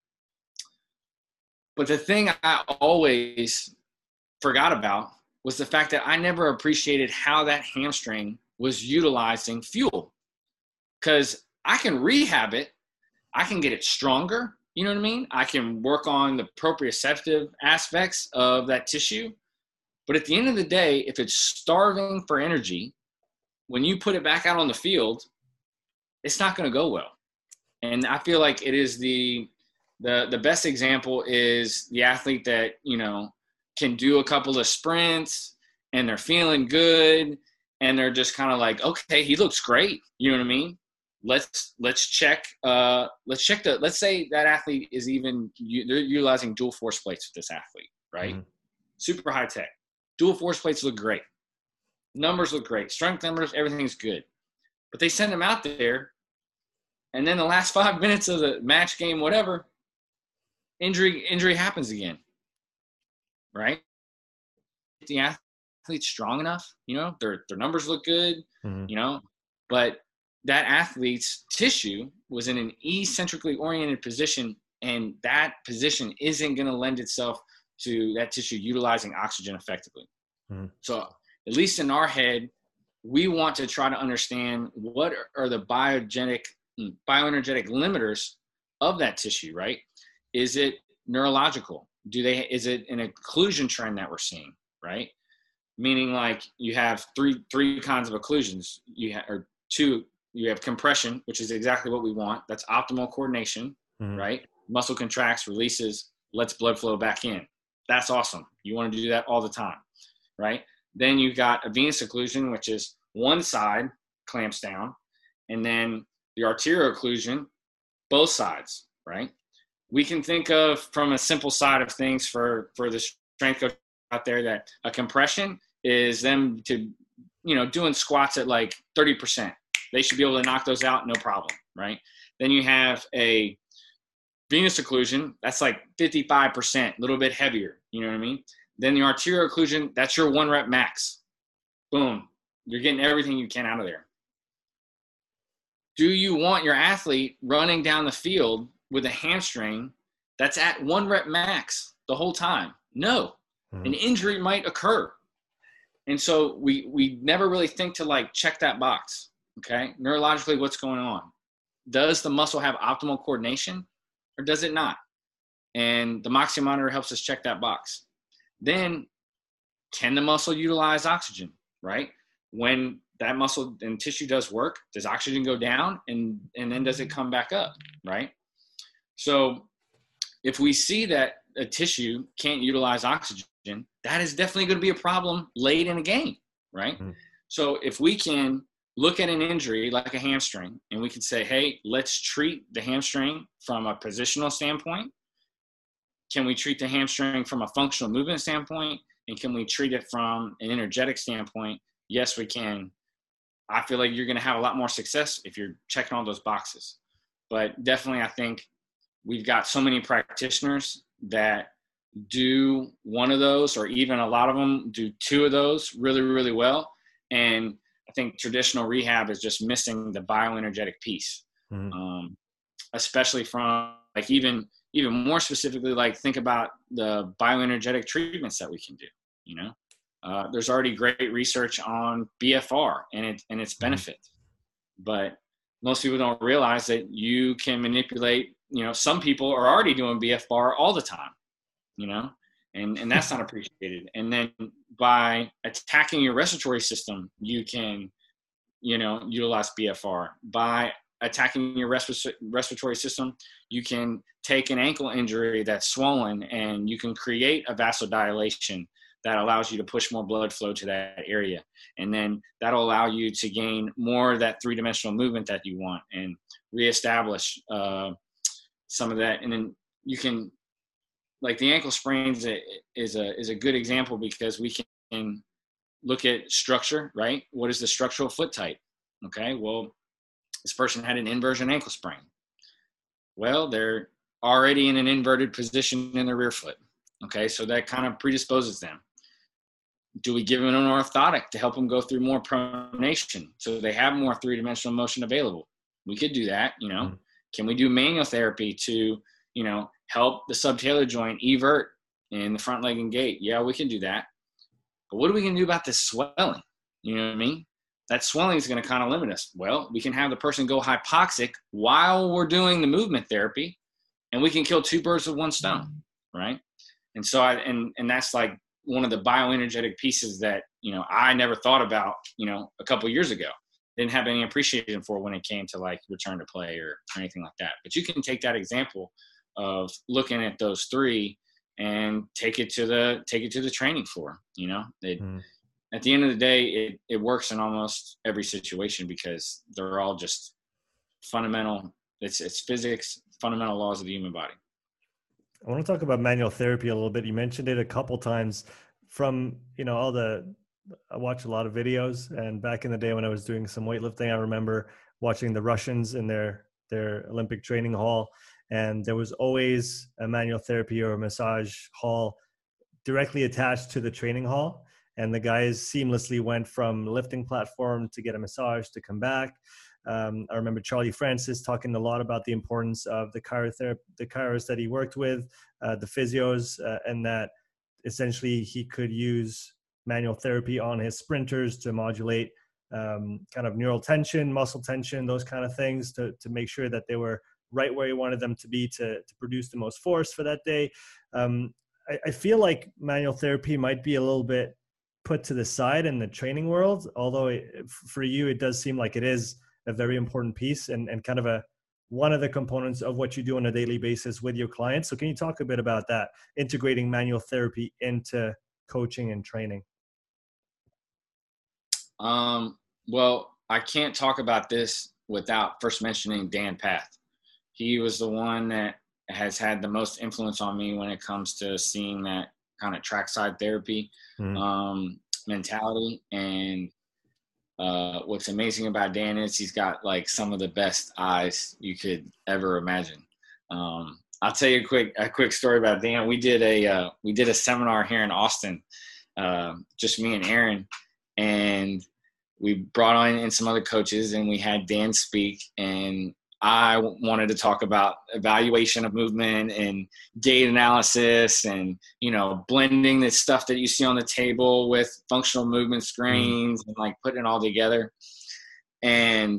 But the thing I always forgot about was the fact that I never appreciated how that hamstring was utilizing fuel. Because I can rehab it, I can get it stronger, you know what I mean? I can work on the proprioceptive aspects of that tissue. But at the end of the day, if it's starving for energy, when you put it back out on the field, it's not going to go well. And I feel like it is the, the, the best example is the athlete that, you know, can do a couple of sprints and they're feeling good and they're just kind of like, okay, he looks great. You know what I mean? Let's, let's check, uh, let's check the, let's say that athlete is even, they're utilizing dual force plates with this athlete, right? Mm-hmm. Super high tech. Dual force plates look great. Numbers look great. Strength numbers, everything's good. But they send them out there, and then the last five minutes of the match, game, whatever, injury injury happens again, right? The athlete's strong enough, you know, their their numbers look good, mm-hmm. you know, but that athlete's tissue was in an eccentrically oriented position, and that position isn't going to lend itself to that tissue utilizing oxygen effectively. Mm-hmm. So at least in our head, we want to try to understand what are the biogenic, bioenergetic limiters of that tissue, right? Is it neurological? Do they, is it an occlusion trend that we're seeing, right? Meaning like you have three, three kinds of occlusions. You have, or two, you have compression, which is exactly what we want. That's optimal coordination, mm-hmm. right? Muscle contracts, releases, lets blood flow back in. That's awesome. You want to do that all the time, right? Then you've got a venous occlusion, which is one side clamps down, and then the arterial occlusion, both sides, right? We can think of from a simple side of things for, for the strength coach out there that a compression is them to, you know, doing squats at like thirty percent. They should be able to knock those out, no problem, right? Then you have a venous occlusion, that's like fifty-five percent, a little bit heavier, you know what I mean? Then the arterial occlusion, that's your one rep max. Boom, you're getting everything you can out of there. Do you want your athlete running down the field with a hamstring that's at one rep max the whole time? No, mm-hmm. An injury might occur. And so we, we never really think to like check that box, okay? Neurologically, what's going on? Does the muscle have optimal coordination or does it not? And the Moxy monitor helps us check that box. Then can the muscle utilize oxygen, right? When that muscle and tissue does work, does oxygen go down and, and then does it come back up, right? So if we see that a tissue can't utilize oxygen, that is definitely going to be a problem late in a game, right? Mm-hmm. So if we can look at an injury like a hamstring and we can say, hey, let's treat the hamstring from a positional standpoint. Can we treat the hamstring from a functional movement standpoint? And can we treat it from an energetic standpoint? Yes, we can. I feel like you're going to have a lot more success if you're checking all those boxes. But definitely, I think we've got so many practitioners that do one of those, or even a lot of them do two of those really, really well. And I think traditional rehab is just missing the bioenergetic piece, mm-hmm. um, especially from like even – even more specifically, like think about the bioenergetic treatments that we can do, you know, uh, there's already great research on B F R and it, and its benefits, but most people don't realize that you can manipulate, you know, some people are already doing B F R all the time, you know, and, and that's not appreciated. And then by attacking your respiratory system, you can, you know, utilize B F R. By attacking your resp- respiratory system, you can take an ankle injury that's swollen and you can create a vasodilation that allows you to push more blood flow to that area. And then that'll allow you to gain more of that three-dimensional movement that you want and reestablish uh, some of that. And then you can, like the ankle sprains is a, is a good example because we can look at structure, right? What is the structural foot type? Okay, well, this person had an inversion ankle sprain. Well, they're already in an inverted position in their rear foot. Okay, so that kind of predisposes them. Do we give them an orthotic to help them go through more pronation so they have more three-dimensional motion available? We could do that, you know. Mm-hmm. Can we do manual therapy to, you know, help the subtalar joint evert in the front leg and gait? Yeah, we can do that. But what are we going to do about this swelling? You know what I mean? That swelling is going to kind of limit us. Well, we can have the person go hypoxic while we're doing the movement therapy, and we can kill two birds with one stone, right? And so I, and, and that's like one of the bioenergetic pieces that, you know, I never thought about, you know, a couple of years ago. Didn't have any appreciation for when it came to like return to play or, or anything like that. But you can take that example of looking at those three and take it to the, take it to the training floor, you know, it, mm. At the end of the day, it, it works in almost every situation because they're all just fundamental. It's, it's physics, fundamental laws of the human body. I want to talk about manual therapy a little bit. You mentioned it a couple times from, you know, all the, I watch a lot of videos, and back in the day when I was doing some weightlifting, I remember watching the Russians in their, their Olympic training hall. And there was always a manual therapy or a massage hall directly attached to the training hall. And the guys seamlessly went from lifting platform to get a massage to come back. Um, I remember Charlie Francis talking a lot about the importance of the chirotherapy, the chiros that he worked with, uh, the physios, uh, and that essentially he could use manual therapy on his sprinters to modulate um, kind of neural tension, muscle tension, those kind of things to, to make sure that they were right where he wanted them to be to, to produce the most force for that day. Um, I, I feel like manual therapy might be a little bit put to the side in the training world, although it, for you, it does seem like it is a very important piece and, and kind of a one of the components of what you do on a daily basis with your clients. So can you talk a bit about that, integrating manual therapy into coaching and training? Um, well, I can't talk about this without first mentioning Dan Path. He was the one that has had the most influence on me when it comes to seeing that kind of trackside therapy mm. um, mentality. And uh, what's amazing about Dan is he's got like some of the best eyes you could ever imagine. Um, I'll tell you a quick, a quick story about Dan. We did a, uh, we did a seminar here in Austin, uh, just me and Aaron, and we brought on in some other coaches and we had Dan speak, and I wanted to talk about evaluation of movement and gait analysis and, you know, blending the stuff that you see on the table with functional movement screens mm. and like putting it all together. And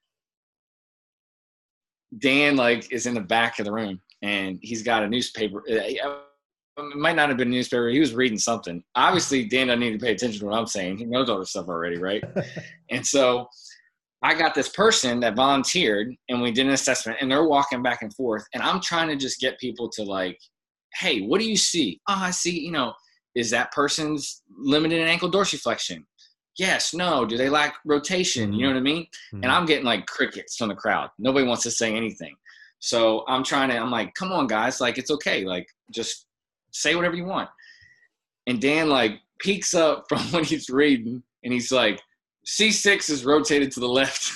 Dan like is in the back of the room and he's got a newspaper. It might not have been a newspaper. He was reading something. Obviously, Dan doesn't need to pay attention to what I'm saying. He knows all this stuff already, right? And so I got this person that volunteered and we did an assessment and they're walking back and forth and I'm trying to just get people to like, hey, what do you see? Oh, I see, you know, is that person's limited in ankle dorsiflexion? Yes, no. Do they lack rotation? You know what I mean? Mm-hmm. And I'm getting like crickets from the crowd. Nobody wants to say anything. So I'm trying to, I'm like, come on guys. Like, it's okay. Like, just say whatever you want. And Dan like peeks up from what he's reading and he's like, C six is rotated to the left.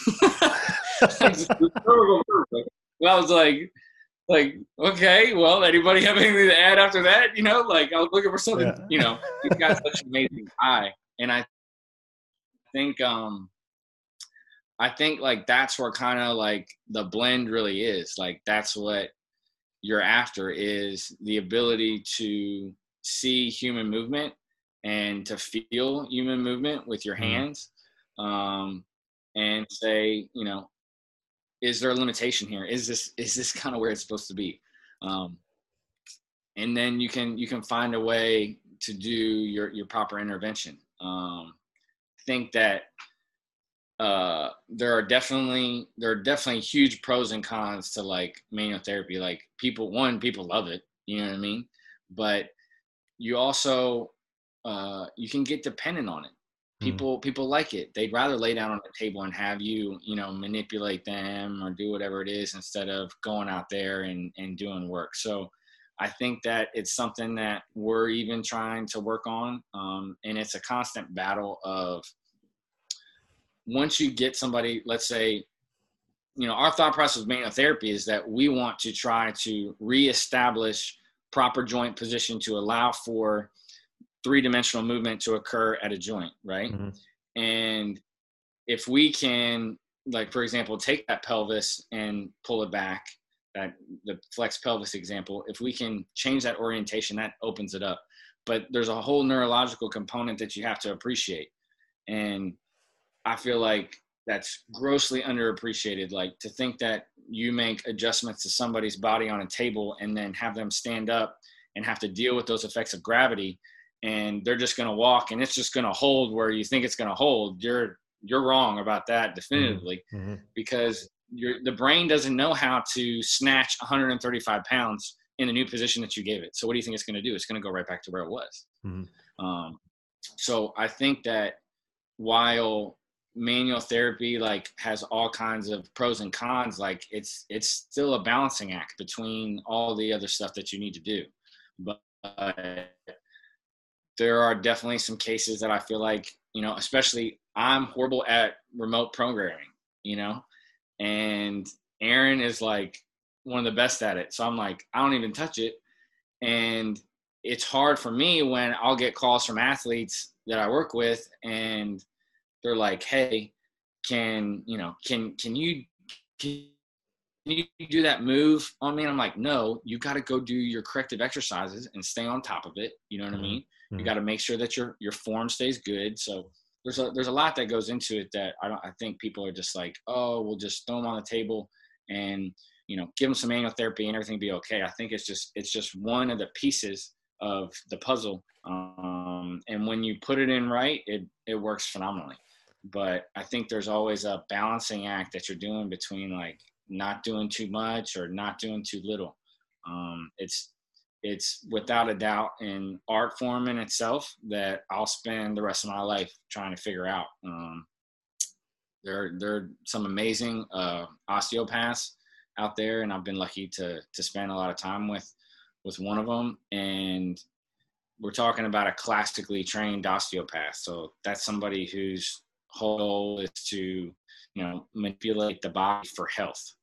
Well, I was like, like, okay, well, anybody have anything to add after that? You know, like I was looking for something, yeah. You know, he's got such an amazing eye. And I think, um, I think like that's where kind of like the blend really is. Like that's what you're after is the ability to see human movement and to feel human movement with your hands. Um, and say, you know, is there a limitation here? Is this, is this kind of where it's supposed to be? Um, and then you can, you can find a way to do your, your proper intervention. Um, I think that, uh, there are definitely, there are definitely huge pros and cons to like manual therapy. Like people, one, people love it, you know what I mean? But you also, uh, you can get dependent on it. Mm. People people like it. They'd rather lay down on the table and have you, you know, manipulate them or do whatever it is instead of going out there and, and doing work. So I think that it's something that we're even trying to work on. Um, and it's a constant battle of, once you get somebody, let's say, you know, our thought process with manual therapy is that we want to try to reestablish proper joint position to allow for three-dimensional movement to occur at a joint, right? Mm-hmm. And if we can, like, for example, take that pelvis and pull it back, that the flex pelvis example, if we can change that orientation, that opens it up. But there's a whole neurological component that you have to appreciate. And I feel like that's grossly underappreciated. Like, to think that you make adjustments to somebody's body on a table and then have them stand up and have to deal with those effects of gravity, and they're just going to walk and it's just going to hold where you think it's going to hold. You're, you're wrong about that definitively. Mm-hmm. Because your, the brain doesn't know how to snatch one hundred thirty-five pounds in the new position that you gave it. So what do you think it's going to do? It's going to go right back to where it was. Mm-hmm. Um, so I think that while manual therapy like has all kinds of pros and cons, like it's, it's still a balancing act between all the other stuff that you need to do. But uh, there are definitely some cases that I feel like, you know, especially I'm horrible at remote programming, you know, and Aaron is like one of the best at it. So I'm like, I don't even touch it. And it's hard for me when I'll get calls from athletes that I work with and they're like, hey, can, you know, can, can you, can you do that move on me? And I'm like, no, you got to go do your corrective exercises and stay on top of it. You know what mm-hmm. I mean? Mm-hmm. You got to make sure that your, your form stays good. So there's a, there's a lot that goes into it that I don't, I think people are just like, oh, we'll just throw them on the table and, you know, give them some manual therapy and everything be okay. I think it's just, it's just one of the pieces of the puzzle. Um, and when you put it in right, it, it works phenomenally. But I think there's always a balancing act that you're doing between like not doing too much or not doing too little. Um, it's, it's without a doubt an art form in itself that I'll spend the rest of my life trying to figure out. Um, there, there are some amazing uh, osteopaths out there, and I've been lucky to to spend a lot of time with with one of them. And we're talking about a classically trained osteopath. So that's somebody whose whole goal is to, you know, manipulate the body for health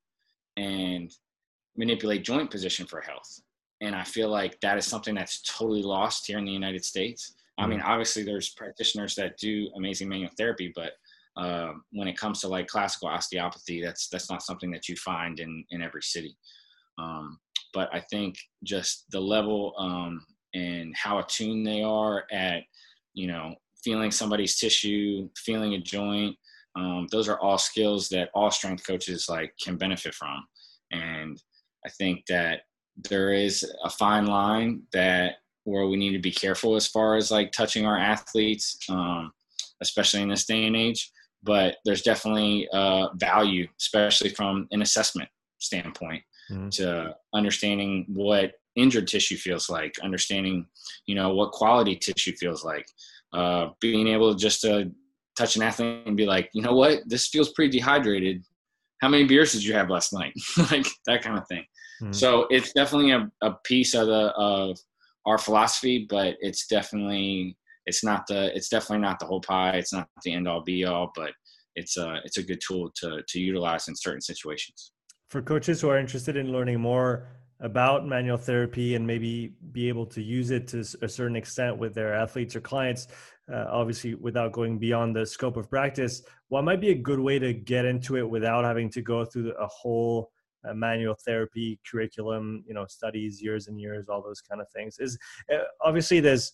and manipulate joint position for health. And I feel like that is something that's totally lost here in the United States. I mean, obviously there's practitioners that do amazing manual therapy, but uh, when it comes to like classical osteopathy, that's, that's not something that you find in, in every city. Um, but I think just the level um, and how attuned they are at, you know, feeling somebody's tissue, feeling a joint, um, those are all skills that all strength coaches like can benefit from. And I think that there is a fine line that where we need to be careful as far as like touching our athletes, um, especially in this day and age. But there's definitely uh, value, especially from an assessment standpoint, mm-hmm. to understanding what injured tissue feels like, understanding, you know, what quality tissue feels like, uh, being able to just to touch an athlete and be like, you know what, this feels pretty dehydrated. How many beers did you have last night? Like that kind of thing. Mm-hmm. So it's definitely a, a piece of the, of our philosophy, but it's definitely, it's not the, it's definitely not the whole pie. It's not the end all be all, but it's a, it's a good tool to, to utilize in certain situations. For coaches who are interested in learning more about manual therapy and maybe be able to use it to a certain extent with their athletes or clients, uh, obviously without going beyond the scope of practice, what might be a good way to get into it without having to go through a whole uh, manual therapy curriculum, you know, studies, years and years, all those kind of things? Is uh, obviously there's,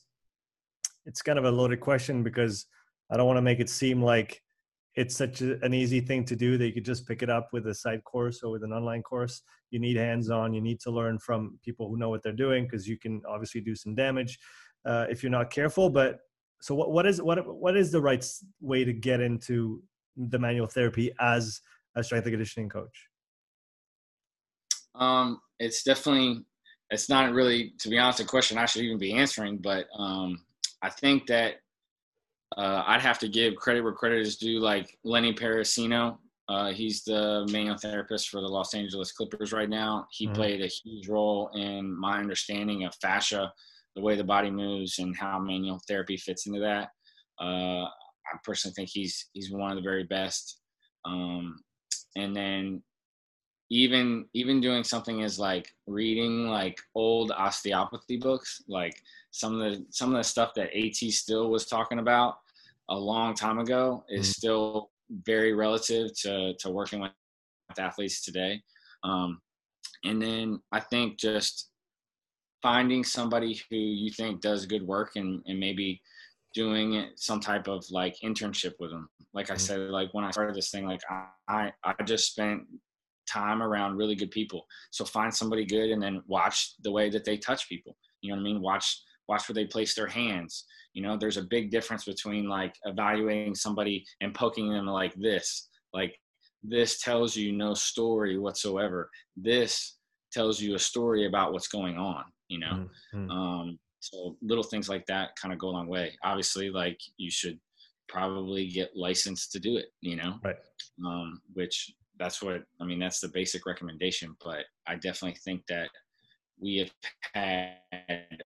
it's kind of a loaded question because I don't want to make it seem like it's such a, an easy thing to do that you could just pick it up with a side course or with an online course. You need hands-on. You need to learn from people who know what they're doing because you can obviously do some damage uh, if you're not careful. But so what, what is what what is the right way to get into the manual therapy as a strength and conditioning coach? Um, it's definitely, it's not really, to be honest, a question I should even be answering, but um, I think that uh, I'd have to give credit where credit is due, like Lenny Parasino. Uh, he's the manual therapist for the Los Angeles Clippers right now. He mm-hmm. played a huge role in my understanding of fascia, the way the body moves, and how manual therapy fits into that. Uh, I personally think he's he's one of the very best. Um, and then even even doing something as like reading like old osteopathy books, like some of the some of the stuff that A T Still was talking about a long time ago is mm-hmm. still very relative to to working with athletes today. Um, and then I think just finding somebody who you think does good work and, and maybe doing some type of like internship with them. Like I mm-hmm. said, like when I started this thing, like I, I just spent time around really good people. So find somebody good and then watch the way that they touch people. You know what I mean? Watch, watch where they place their hands. You know, there's a big difference between like evaluating somebody and poking them like this. Like this tells you no story whatsoever. This tells you a story about what's going on, you know? Mm-hmm. Um, so little things like that kind of go a long way. Obviously, like you should probably get licensed to do it, you know? Right. Um, which that's what, I mean, that's the basic recommendation, but I definitely think that we have had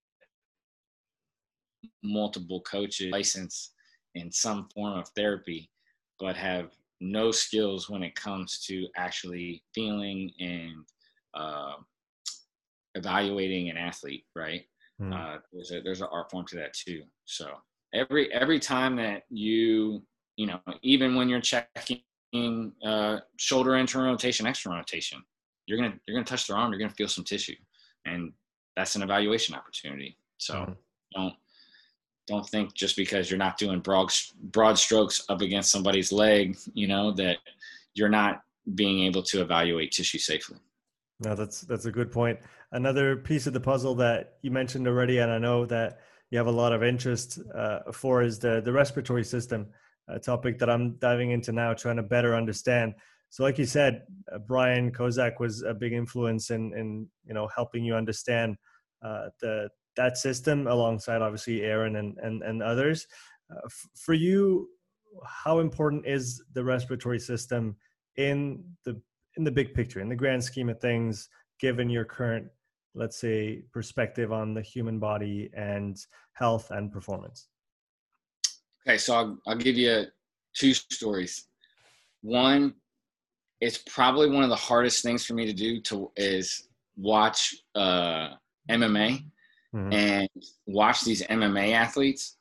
multiple coaches licensed in some form of therapy, but have no skills when it comes to actually feeling and uh, evaluating an athlete, right? Mm. Uh, there's a there's an art form to that too. So every every time that you you know, even when you're checking uh, shoulder internal rotation, external rotation, you're gonna you're gonna touch their arm, you're gonna feel some tissue, and that's an evaluation opportunity. So mm. don't don't think just because you're not doing broad broad strokes up against somebody's leg, you know, that you're not being able to evaluate tissue safely. No, that's that's a good point. Another piece of the puzzle that you mentioned already, and I know that you have a lot of interest uh, for, is the the respiratory system, a topic that I'm diving into now, trying to better understand. So, like you said, uh, Brian Kozak was a big influence in in you know helping you understand uh, the that system, alongside obviously Aaron and and and others. Uh, f- for you, how important is the respiratory system in the in the big picture, in the grand scheme of things, given your current, let's say, perspective on the human body and health and performance? Okay, so I'll, I'll give you two stories. One, it's probably one of the hardest things for me to do to is watch uh, M M A mm-hmm. and watch these M M A athletes.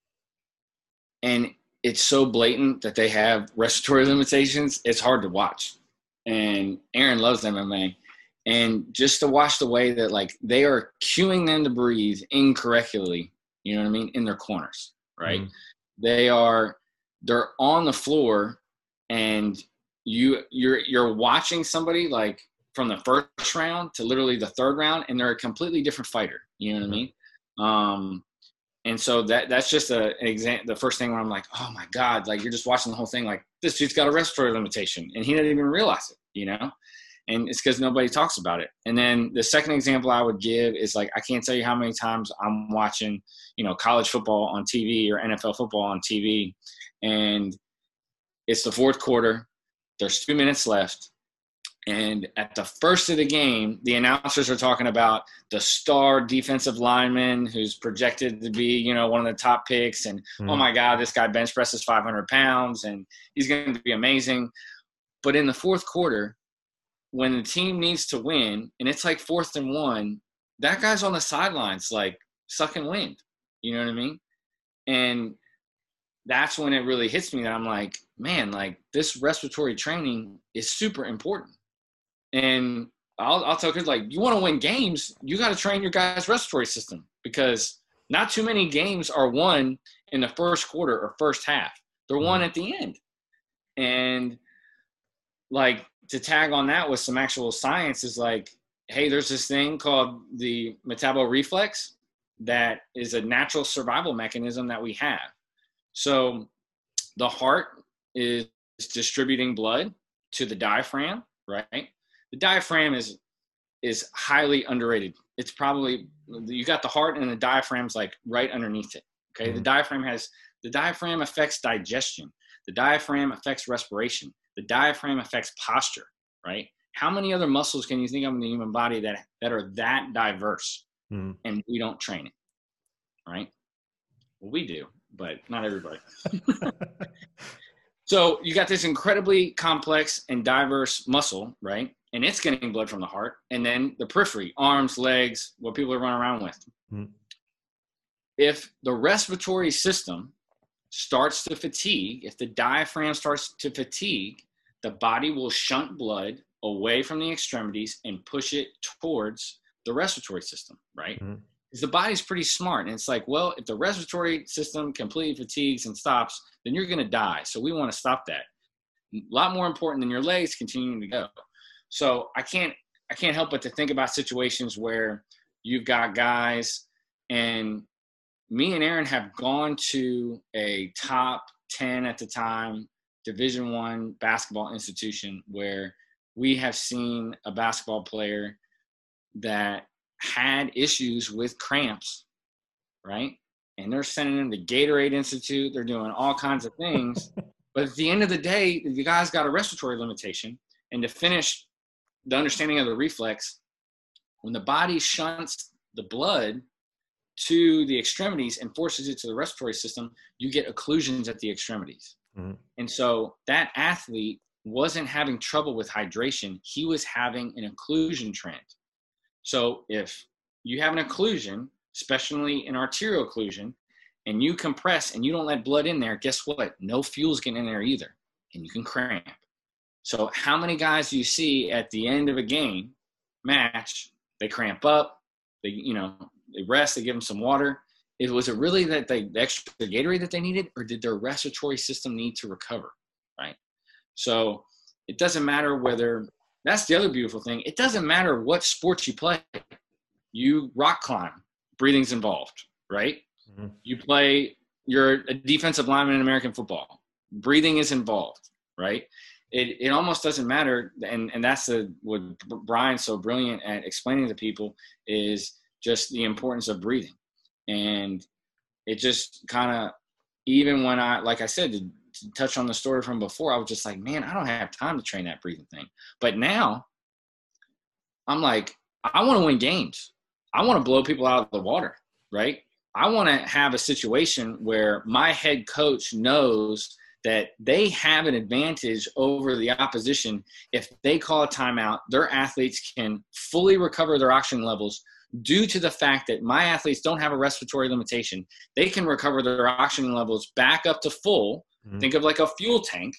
And it's so blatant that they have respiratory limitations, it's hard to watch. And Aaron loves M M A. And just to watch the way that, like, they are cueing them to breathe incorrectly, you know what I mean, in their corners, right? Mm-hmm. They are, they're on the floor, and you, you're, you're watching somebody, like, from the first round to literally the third round, and they're a completely different fighter, you know what mm-hmm. I mean? Um, and so that that's just a, an example. The first thing where I'm like, oh my God, like you're just watching the whole thing. Like this dude's got a respiratory limitation and he didn't even realize it, you know? And it's because nobody talks about it. And then the second example I would give is like, I can't tell you how many times I'm watching, you know, college football on T V or N F L football on T V. And it's the fourth quarter. There's two minutes left. And at the first of the game, the announcers are talking about the star defensive lineman who's projected to be, you know, one of the top picks. And, mm. oh, my God, this guy bench presses five hundred pounds, and he's going to be amazing. But in the fourth quarter, when the team needs to win, and it's like fourth and one, that guy's on the sidelines, like, sucking wind. You know what I mean? And that's when it really hits me that I'm like, man, like, this respiratory training is super important. And I'll, I'll tell kids, like, you want to win games, you got to train your guys' respiratory system, because not too many games are won in the first quarter or first half. They're won at the end. And, like, to tag on that with some actual science is like, hey, there's this thing called the metaboreflex that is a natural survival mechanism that we have. So the heart is distributing blood to the diaphragm, right? The diaphragm is is highly underrated. it's probably, you got the heart and the diaphragm's like right underneath it. Okay. Mm-hmm. The diaphragm has, the diaphragm affects digestion. The diaphragm affects respiration. The diaphragm affects posture, right? How many other muscles can you think of in the human body that, that are that diverse? Mm-hmm. And we don't train it, right? Well, we do, but not everybody. So you got this incredibly complex and diverse muscle, right? And it's getting blood from the heart. And then the periphery, arms, legs, what people are running around with. Mm-hmm. If the respiratory system starts to fatigue, if the diaphragm starts to fatigue, the body will shunt blood away from the extremities and push it towards the respiratory system, right? Mm-hmm. Because the body's pretty smart. And it's like, well, if the respiratory system completely fatigues and stops, then you're going to die. So we want to stop that. A lot more important than your legs continuing to go. So I can't, I can't help but to think about situations where you've got guys, and me and Aaron have gone to a top ten at the time, Division One basketball institution where we have seen a basketball player that had issues with cramps, right? And they're sending him to Gatorade Institute. They're doing all kinds of things. But at the end of the day, the guy's got a respiratory limitation. And to finish the understanding of the reflex, when the body shunts the blood to the extremities and forces it to the respiratory system, you get occlusions at the extremities. Mm-hmm. And so that athlete wasn't having trouble with hydration. He was having an occlusion trend. So if you have an occlusion, especially an arterial occlusion, and you compress and you don't let blood in there, guess what? No fuel's getting in there either, and you can cramp. So how many guys do you see at the end of a game match, they cramp up, they, you know, they rest, they give them some water. It, was it really that they, the extra Gatorade that they needed, or did their respiratory system need to recover, right? So it doesn't matter whether – that's the other beautiful thing. It doesn't matter what sports you play. You rock climb, breathing's involved, right? Mm-hmm. You play – you're a defensive lineman in American football. Breathing is involved, right? It it almost doesn't matter, and, and that's the, what Brian's so brilliant at explaining to people is just the importance of breathing. And it just kind of, even when I, like I said, to, to touch on the story from before, I was just like, man, I don't have time to train that breathing thing. But now I'm like, I want to win games. I want to blow people out of the water, right? I want to have a situation where my head coach knows that they have an advantage over the opposition. If they call a timeout, their athletes can fully recover their oxygen levels due to the fact that my athletes don't have a respiratory limitation. They can recover their oxygen levels back up to full. Mm-hmm. Think of like a fuel tank.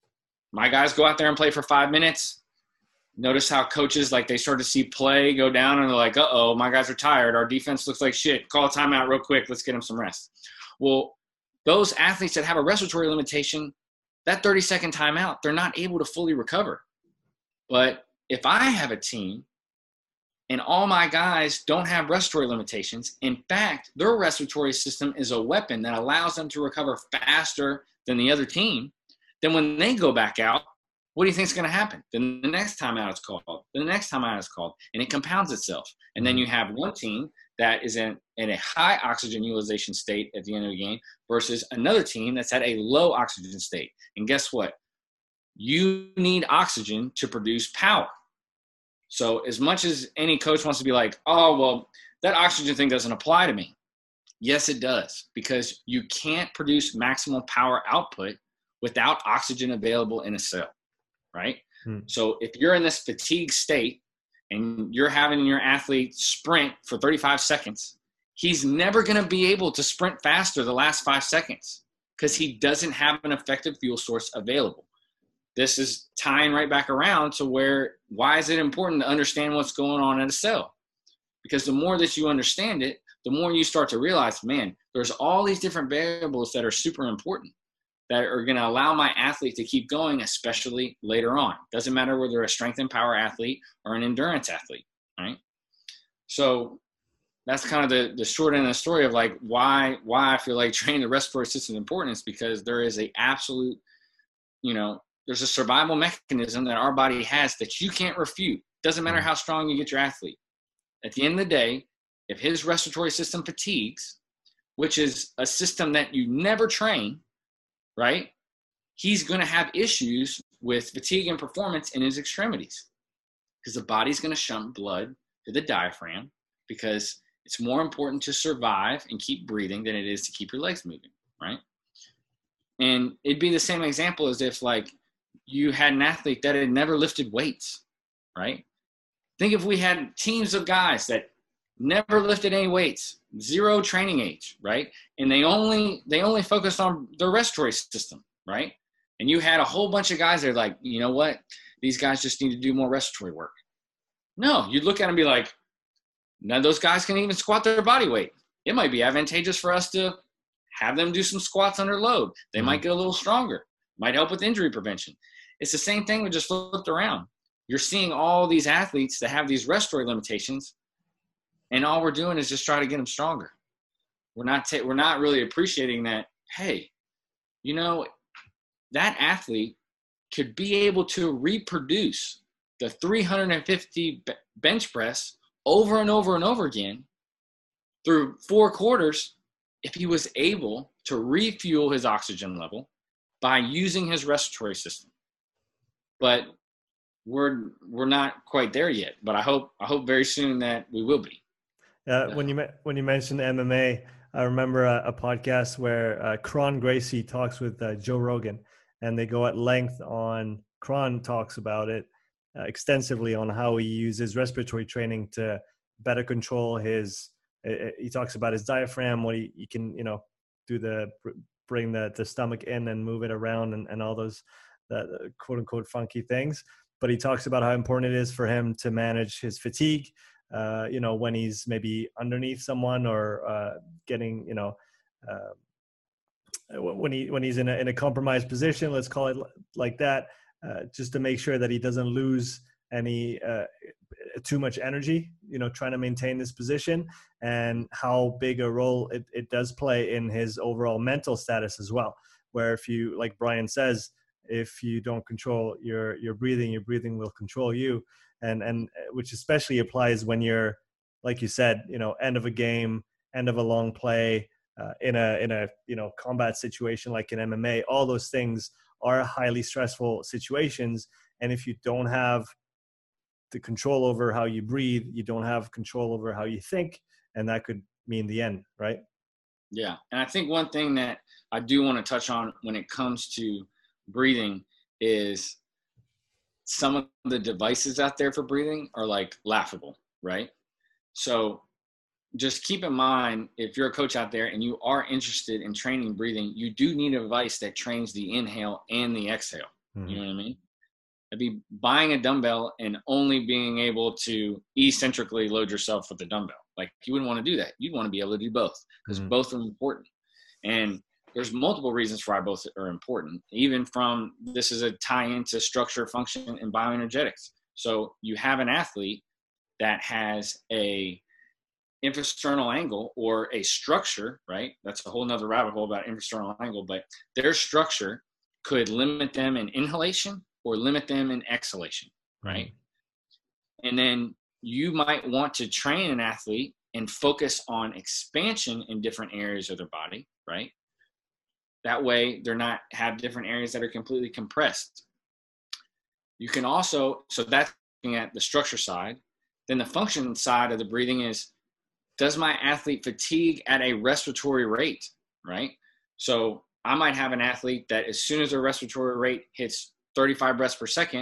My guys go out there and play for five minutes. Notice how coaches, like, they start to see play go down and they're like, uh-oh, my guys are tired. Our defense looks like shit. Call a timeout real quick. Let's get them some rest. Well, those athletes that have a respiratory limitation, that thirty-second timeout, they're not able to fully recover. But if I have a team and all my guys don't have respiratory limitations, in fact, their respiratory system is a weapon that allows them to recover faster than the other team, then when they go back out, what do you think is going to happen? Then the next time out is called, the next time out is called, and it compounds itself. And then you have one team that is in, in a high oxygen utilization state at the end of the game versus another team that's at a low oxygen state. And guess what? You need oxygen to produce power. So as much as any coach wants to be like, oh, well, that oxygen thing doesn't apply to me. Yes, it does, because you can't produce maximal power output without oxygen available in a cell. Right? Hmm. So if you're in this fatigue state and you're having your athlete sprint for thirty-five seconds, he's never going to be able to sprint faster the last five seconds because he doesn't have an effective fuel source available. This is tying right back around to where, why is it important to understand what's going on in a cell? Because the more that you understand it, the more you start to realize, man, there's all these different variables that are super important, that are going to allow my athlete to keep going, especially later on. Doesn't matter whether they're a strength and power athlete or an endurance athlete, right? So that's kind of the, the short end of the story of like why why I feel like training the respiratory system is important, is because there is a absolute, you know, there's a survival mechanism that our body has that you can't refute. Doesn't matter how strong you get your athlete. at the end of the day, if his respiratory system fatigues, which is a system that you never train, right? He's going to have issues with fatigue and performance in his extremities because the body's going to shunt blood to the diaphragm because it's more important to survive and keep breathing than it is to keep your legs moving, right? And it'd be the same example as if like you had an athlete that had never lifted weights, right? Think if we had teams of guys that never lifted any weights, zero training age, right? And they only they only focused on their respiratory system, right? And you had a whole bunch of guys that are like, you know what? These guys just need to do more respiratory work. No, you'd look at them and be like, none of those guys can even squat their body weight. It might be advantageous for us to have them do some squats under load. They mm-hmm. might get a little stronger. Might help with injury prevention. It's the same thing we just flipped around. You're seeing all these athletes that have these respiratory limitations, and all we're doing is just try to get them stronger. We're not ta- we're not really appreciating that, hey, you know, that athlete could be able to reproduce the three hundred fifty bench press over and over and over again through four quarters if he was able to refuel his oxygen level by using his respiratory system. But we're we're not quite there yet. But I hope I hope very soon that we will be. Uh, when you when you mentioned M M A, I remember a, a podcast where uh, Kron Gracie talks with uh, Joe Rogan, and they go at length on. Kron talks about it uh, extensively on how he uses respiratory training to better control his. Uh, he talks about his diaphragm, what he, he can, you know, do the bring the the stomach in and move it around, and, and all those the quote unquote funky things. But he talks about how important it is for him to manage his fatigue. Uh, you know, when he's maybe underneath someone or uh, getting, you know, uh, when he when he's in a in a compromised position, let's call it like that, uh, just to make sure that he doesn't lose any uh, too much energy. You know, trying to maintain this position, and how big a role it, it does play in his overall mental status as well. Where if you, like Brian says, if you don't control your your breathing, your breathing will control you. And and which especially applies when you're, like you said, you know, end of a game, end of a long play, uh, in a in a you know combat situation like in M M A. All those things are highly stressful situations, and if you don't have the control over how you breathe, you don't have control over how you think, and that could mean the end, right? Yeah, and I think one thing that I do want to touch on when it comes to breathing is some of the devices out there for breathing are like laughable, right? So just keep in mind, if you're a coach out there and you are interested in training breathing, you do need a device that trains the inhale and the exhale. Mm-hmm. You know what I mean? It'd be buying a dumbbell and only being able to eccentrically load yourself with the dumbbell. Like, you wouldn't want to do that. You'd want to be able to do both because mm-hmm. both are important. And there's multiple reasons for why both are important, even from this is a tie into structure, function, and bioenergetics. So you have an athlete that has a infrasternal angle or a structure, right? That's a whole nother rabbit hole about infrasternal angle, but their structure could limit them in inhalation or limit them in exhalation, right? And then you might want to train an athlete and focus on expansion in different areas of their body, right? That way they're not have different areas that are completely compressed. You can also, so that's looking at the structure side. Then the function side of the breathing is, does my athlete fatigue at a respiratory rate, right? So I might have an athlete that as soon as their respiratory rate hits thirty-five breaths per second,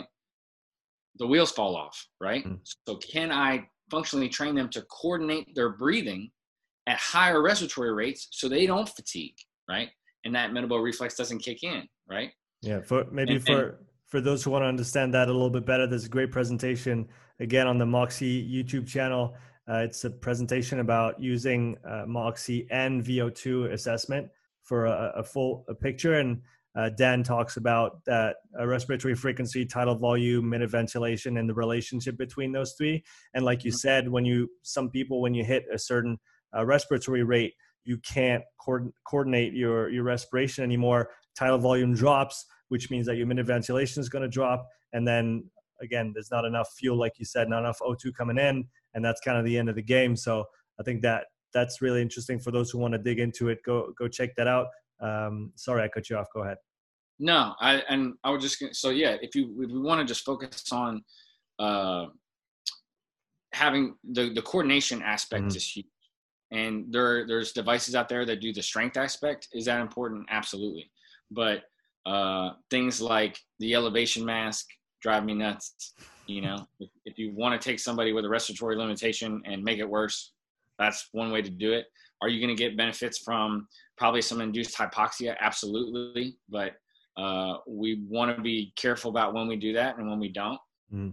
the wheels fall off, right? Mm-hmm. So can I functionally train them to coordinate their breathing at higher respiratory rates so they don't fatigue, right? And that metabolic reflex doesn't kick in, right? Yeah, for maybe and, for and, for those who want to understand that a little bit better, there's a great presentation again on the Moxy YouTube channel. Uh, it's a presentation about using uh, Moxy and V O two assessment for a, a full a picture. And uh, Dan talks about that uh, respiratory frequency, tidal volume, minute ventilation, and the relationship between those three. And like you said, when you some people when you hit a certain uh, respiratory rate, you can't co- coordinate your, your respiration anymore. Tidal volume drops, which means that your minute ventilation is going to drop. And then again, there's not enough fuel, like you said, not enough O two coming in. and that's kind of the end of the game. So I think that that's really interesting for those who want to dig into it. Go go check that out. Um, sorry, I cut you off. Go ahead. No, I and I was just gonna, so yeah. If you if we want to just focus on uh, having the the coordination aspect mm-hmm. is huge, and there there's devices out there that do the strength aspect. Is that important? Absolutely, but uh, things like the elevation mask drive me nuts. You know, if, if you want to take somebody with a respiratory limitation and make it worse, that's one way to do it. Are you going to get benefits from probably some induced hypoxia? Absolutely, but Uh, we want to be careful about when we do that and when we don't. Mm.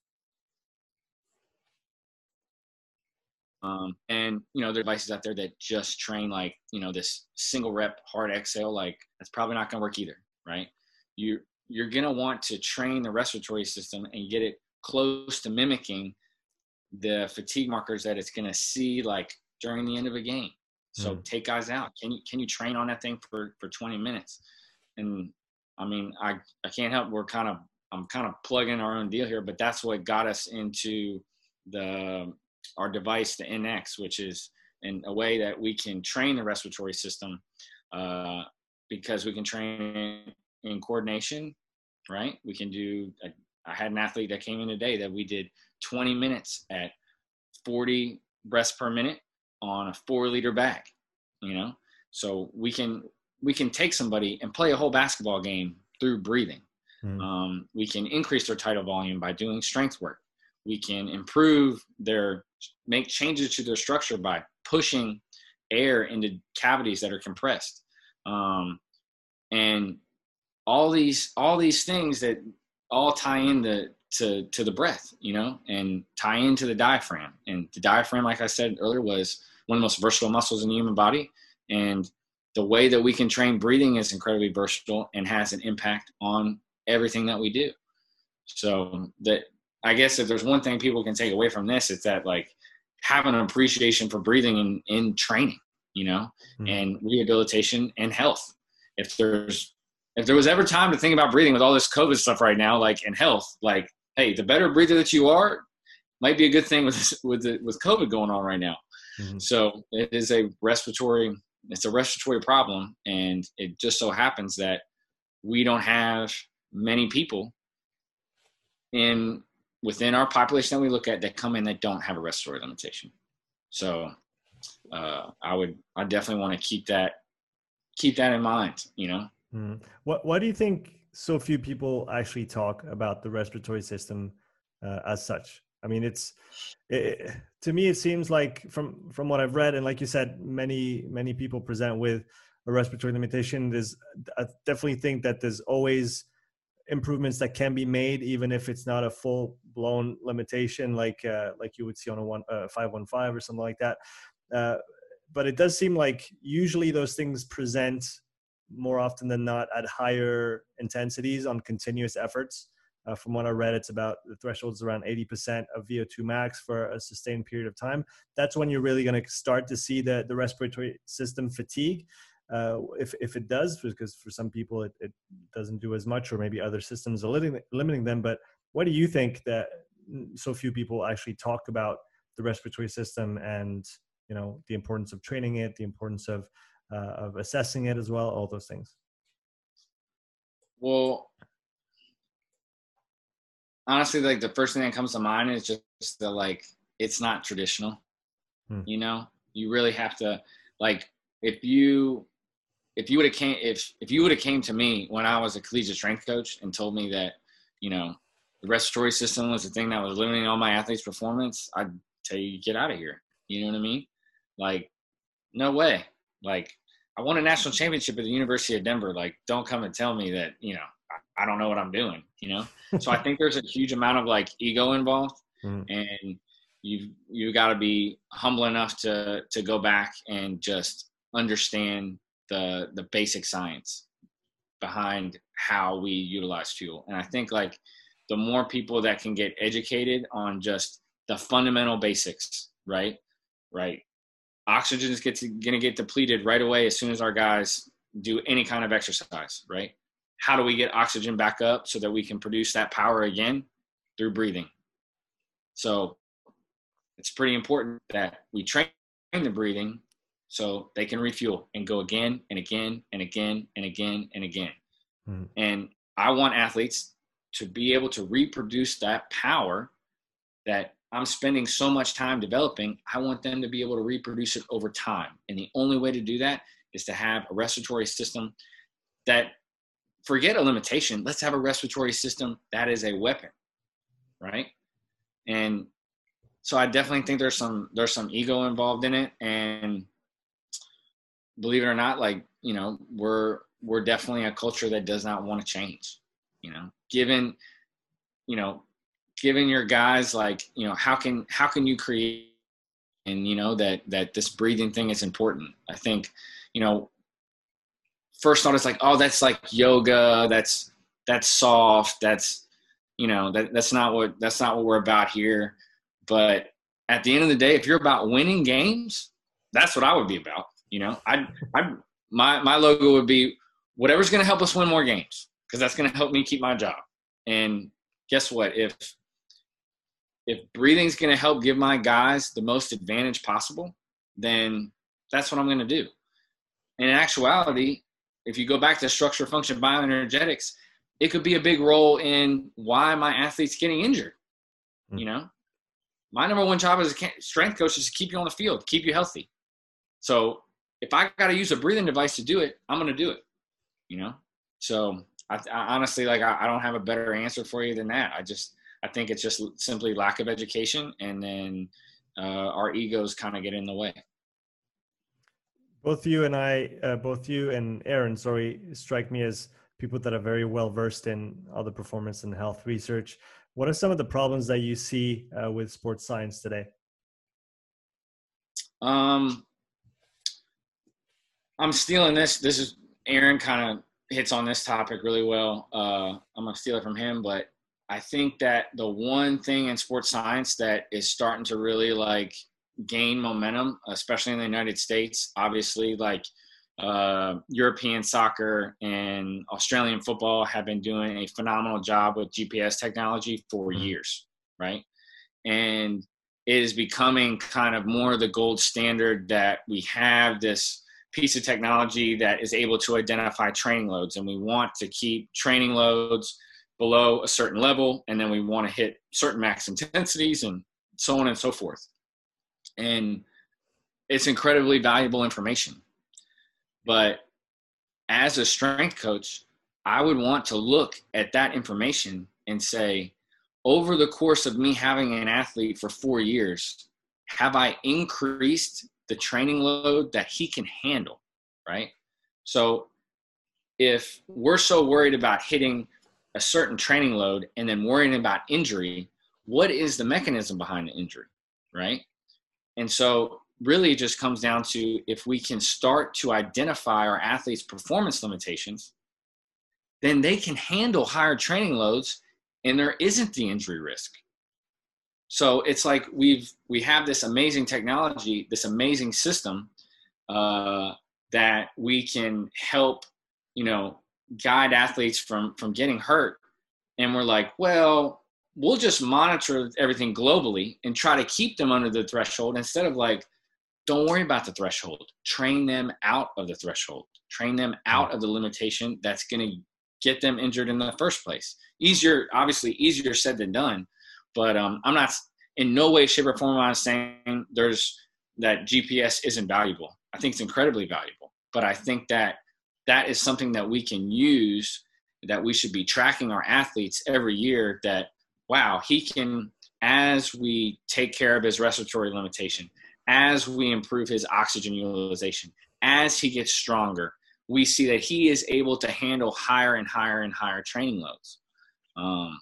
Um, and, you know, there are devices out there that just train like, you know, this single rep hard exhale, like that's probably not going to work either, right? You, you're going to want to train the respiratory system and get it close to mimicking the fatigue markers that it's going to see like during the end of a game. So mm. take guys out. Can you, can you train on that thing for, for twenty minutes? And, I mean, I, I can't help. We're kind of, I'm kind of plugging our own deal here, but that's what got us into the, our device, the N X, which is in a way that we can train the respiratory system uh, because we can train in, in coordination, right? We can do, I, I had an athlete that came in today that we did twenty minutes at forty breaths per minute on a four liter bag, you know? So we can, we can take somebody and play a whole basketball game through breathing. Mm. Um, we can increase their tidal volume by doing strength work. We can improve their, make changes to their structure by pushing air into cavities that are compressed. Um, and all these, all these things that all tie into, to, to the breath, you know, and tie into the diaphragm. And the diaphragm, like I said earlier, was one of the most versatile muscles in the human body. And the way that we can train breathing is incredibly versatile and has an impact on everything that we do. So that, I guess if there's one thing people can take away from this, it's that like have an appreciation for breathing in, in training, you know, mm-hmm. and rehabilitation and health. If there's, if there was ever time to think about breathing with all this COVID stuff right now, like in health, like, hey, the better breather that you are might be a good thing with, with, the, with COVID going on right now. Mm-hmm. So it is a respiratory It's a respiratory problem, and it just so happens that we don't have many people in within our population that we look at that come in that don't have a respiratory limitation. So uh, I would, I definitely want to keep that, keep that in mind. You know, mm. what Why do you think so few people actually talk about the respiratory system uh, as such? I mean, it's it, to me, it seems like from, from what I've read, and like you said, many, many people present with a respiratory limitation. There's, I definitely think that there's always improvements that can be made, even if it's not a full blown limitation, like, uh, like you would see on a one, uh, five one five or something like that. Uh, but it does seem like usually those things present more often than not at higher intensities on continuous efforts. Uh, from what I read, it's about the threshold is around eighty percent of V O two max for a sustained period of time. That's when you're really going to start to see the, the respiratory system fatigue. Uh, if, if it does, because for some people it, it doesn't do as much, or maybe other systems are limiting, limiting them. But what do you think that so few people actually talk about the respiratory system and, you know, the importance of training it, the importance of, uh, of assessing it as well, all those things? Well, honestly, like the first thing that comes to mind is just the, like, it's not traditional, hmm. you know, you really have to, like, if you, if you would have came, if, if you would have came to me when I was a collegiate strength coach and told me that, you know, the respiratory system was the thing that was limiting all my athletes' performance, I'd tell you, get out of here. You know what I mean? Like, no way. Like, I won a national championship at the University of Denver. Like, don't come and tell me that, you know, I, I don't know what I'm doing, you know? So I think there's a huge amount of like ego involved, mm. and you've, you got to be humble enough to, to go back and just understand the, the basic science behind how we utilize fuel. And I think like the more people that can get educated on just the fundamental basics, right? Right. Oxygen is going to get depleted right away as soon as our guys do any kind of exercise, right? How do we get oxygen back up so that we can produce that power again? Through breathing. So it's pretty important that we train the breathing so they can refuel and go again and again and again and again and again. Mm-hmm. And I want athletes to be able to reproduce that power that I'm spending so much time developing. I want them to be able to reproduce it over time. And the only way to do that is to have a respiratory system that, forget a limitation, let's have a respiratory system that is a weapon, right? And so I definitely think there's some there's some ego involved in it. And believe it or not, like, you know, we're we're definitely a culture that does not want to change, you know, given, you know, giving your guys, like, you know, how can how can you create, and, you know, that that this breathing thing is important. I think, you know, first thought is like, oh, that's like yoga, that's that's soft, that's, you know, that that's not what that's not what we're about here. But at the end of the day, if you're about winning games, that's what I would be about. You know, I I my my logo would be whatever's going to help us win more games, because that's going to help me keep my job. And guess what? If if breathing's going to help give my guys the most advantage possible, then that's what I'm going to do. And in actuality, if you go back to structure, function, bioenergetics, it could be a big role in why my athlete's getting injured. Mm-hmm. You know, my number one job as a strength coach is to keep you on the field, keep you healthy. So if I got to use a breathing device to do it, I'm going to do it, you know? So I, I honestly, like, I, I don't have a better answer for you than that. I just, I think it's just simply lack of education, and then uh, our egos kind of get in the way. Both you and I, uh, both you and Aaron, sorry, strike me as people that are very well versed in all the performance and health research. What are some of the problems that you see uh, with sports science today? Um, I'm stealing this. This is Aaron kind of hits on this topic really well. Uh, I'm gonna steal it from him, but I think that the one thing in sports science that is starting to really like gain momentum, especially in the United States, obviously, like uh, European soccer and Australian football have been doing a phenomenal job with G P S technology for years, right? And it is becoming kind of more the gold standard that we have this piece of technology that is able to identify training loads, and we want to keep training loads below a certain level, and then we want to hit certain max intensities and so on and so forth. And it's incredibly valuable information. But as a strength coach, I would want to look at that information and say, over the course of me having an athlete for four years, have I increased the training load that he can handle, right? So if we're so worried about hitting a certain training load and then worrying about injury, what is the mechanism behind the injury, right? And so really it just comes down to, if we can start to identify our athletes' performance limitations, then they can handle higher training loads and there isn't the injury risk. So it's like we've, we have this amazing technology, this amazing system uh, that we can help, you know, guide athletes from, from getting hurt. And we're like, well, we'll just monitor everything globally and try to keep them under the threshold, instead of like, don't worry about the threshold. Train them out of the threshold. Train them out of the limitation that's going to get them injured in the first place. Easier, obviously easier said than done. But um, I'm not, in no way, shape, or form, I'm saying there's that G P S isn't valuable. I think it's incredibly valuable. But I think that that is something that we can use, that we should be tracking our athletes every year, that, wow, he can, as we take care of his respiratory limitation, as we improve his oxygen utilization, as he gets stronger, we see that he is able to handle higher and higher and higher training loads. Um,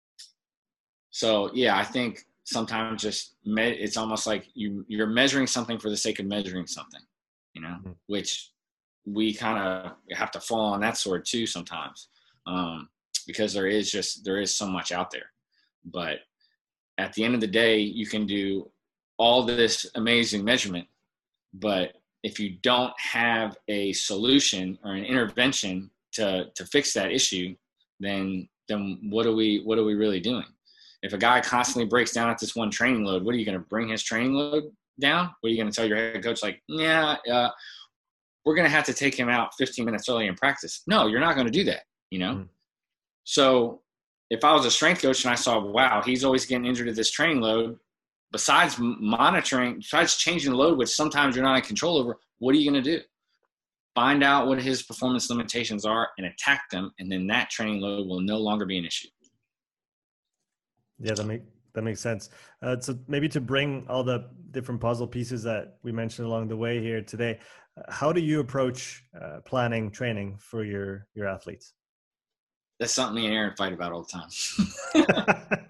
so, yeah, I think sometimes just me- it's almost like you, you're measuring something for the sake of measuring something, you know, mm-hmm. which we kind of have to fall on that sword too sometimes, um, because there is just there is so much out there. But at the end of the day, you can do all this amazing measurement, but if you don't have a solution or an intervention to to fix that issue, then then what are we what are we really doing? If a guy constantly breaks down at this one training load, what are you going to bring his training load down? What are you going to tell your head coach? Like, yeah, uh, we're going to have to take him out fifteen minutes early in practice. No, you're not going to do that, you know? Mm-hmm. So if I was a strength coach and I saw, wow, he's always getting injured at this training load, besides monitoring, besides changing the load, which sometimes you're not in control over, what are you going to do? Find out what his performance limitations are and attack them, and then that training load will no longer be an issue. Yeah, that make that makes sense. Uh, so maybe to bring all the different puzzle pieces that we mentioned along the way here today, uh, how do you approach uh, planning training for your your athletes? That's something me and Aaron fight about all the time.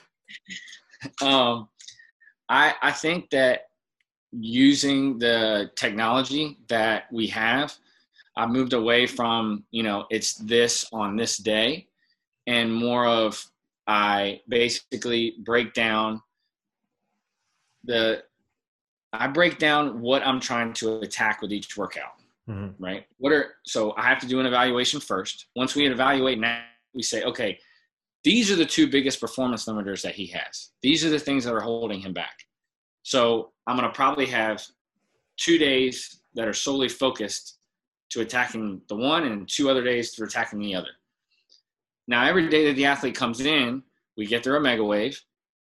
um, I I think that using the technology that we have, I moved away from, you know, it's this on this day, and more of I basically break down the, I break down what I'm trying to attack with each workout, mm-hmm. right? What are, so I have to do an evaluation first. Once we evaluate now, we say, okay, these are the two biggest performance limiters that he has. These are the things that are holding him back. So I'm going to probably have two days that are solely focused to attacking the one and two other days for attacking the other. Now, every day that the athlete comes in, we get their Omega Wave,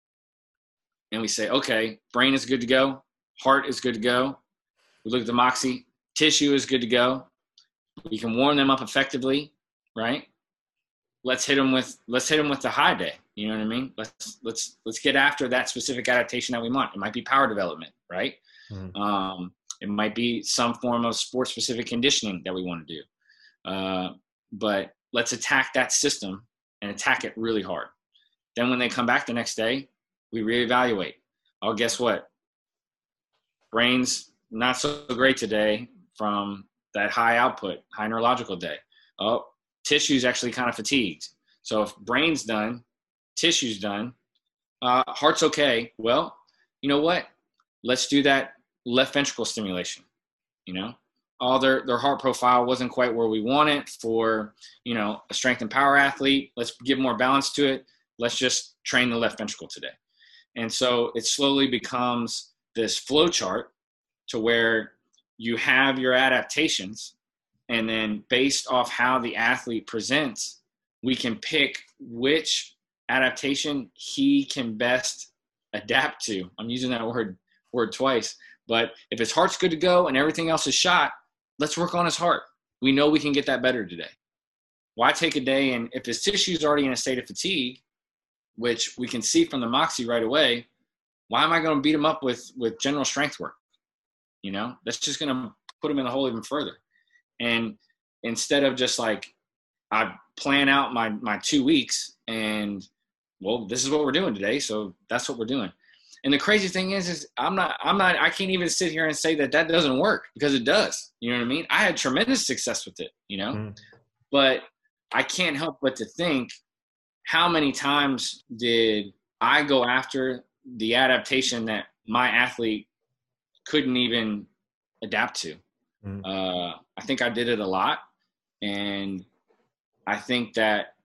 and we say, okay, brain is good to go, heart is good to go. We look at the Moxy, tissue is good to go. We can warm them up effectively, right? Let's hit them with let's hit them with the high day. You know what I mean? Let's let's let's get after that specific adaptation that we want. It might be power development, right? Mm-hmm. Um, it might be some form of sport-specific conditioning that we want to do. Uh, but let's attack that system and attack it really hard. Then when they come back the next day, we reevaluate. Oh, guess what? Brain's not so great today from that high output, high neurological day. Oh, tissue's actually kind of fatigued. So if brain's done, tissue's done, uh, heart's okay. Well, you know what? Let's do that left ventricle stimulation, you know? All their, their heart profile wasn't quite where we want it for, you know, a strength and power athlete. Let's give more balance to it. Let's just train the left ventricle today. And so it slowly becomes this flow chart to where you have your adaptations, and then based off how the athlete presents, we can pick which adaptation he can best adapt to. I'm using that word word twice, but if his heart's good to go and everything else is shot, let's work on his heart. We know we can get that better today. Why take a day, and if his tissue is already in a state of fatigue, which we can see from the Moxy right away, why am I going to beat him up with, with general strength work? You know, that's just going to put him in the hole even further. And instead of just like, I plan out my, my two weeks and, well, this is what we're doing today. So that's what we're doing. And the crazy thing is, is I'm not, I'm not, I can't even sit here and say that that doesn't work, because it does. You know what I mean? I had tremendous success with it, you know, mm. but I can't help but to think, how many times did I go after the adaptation that my athlete couldn't even adapt to? Mm. Uh, I think I did it a lot. And I think that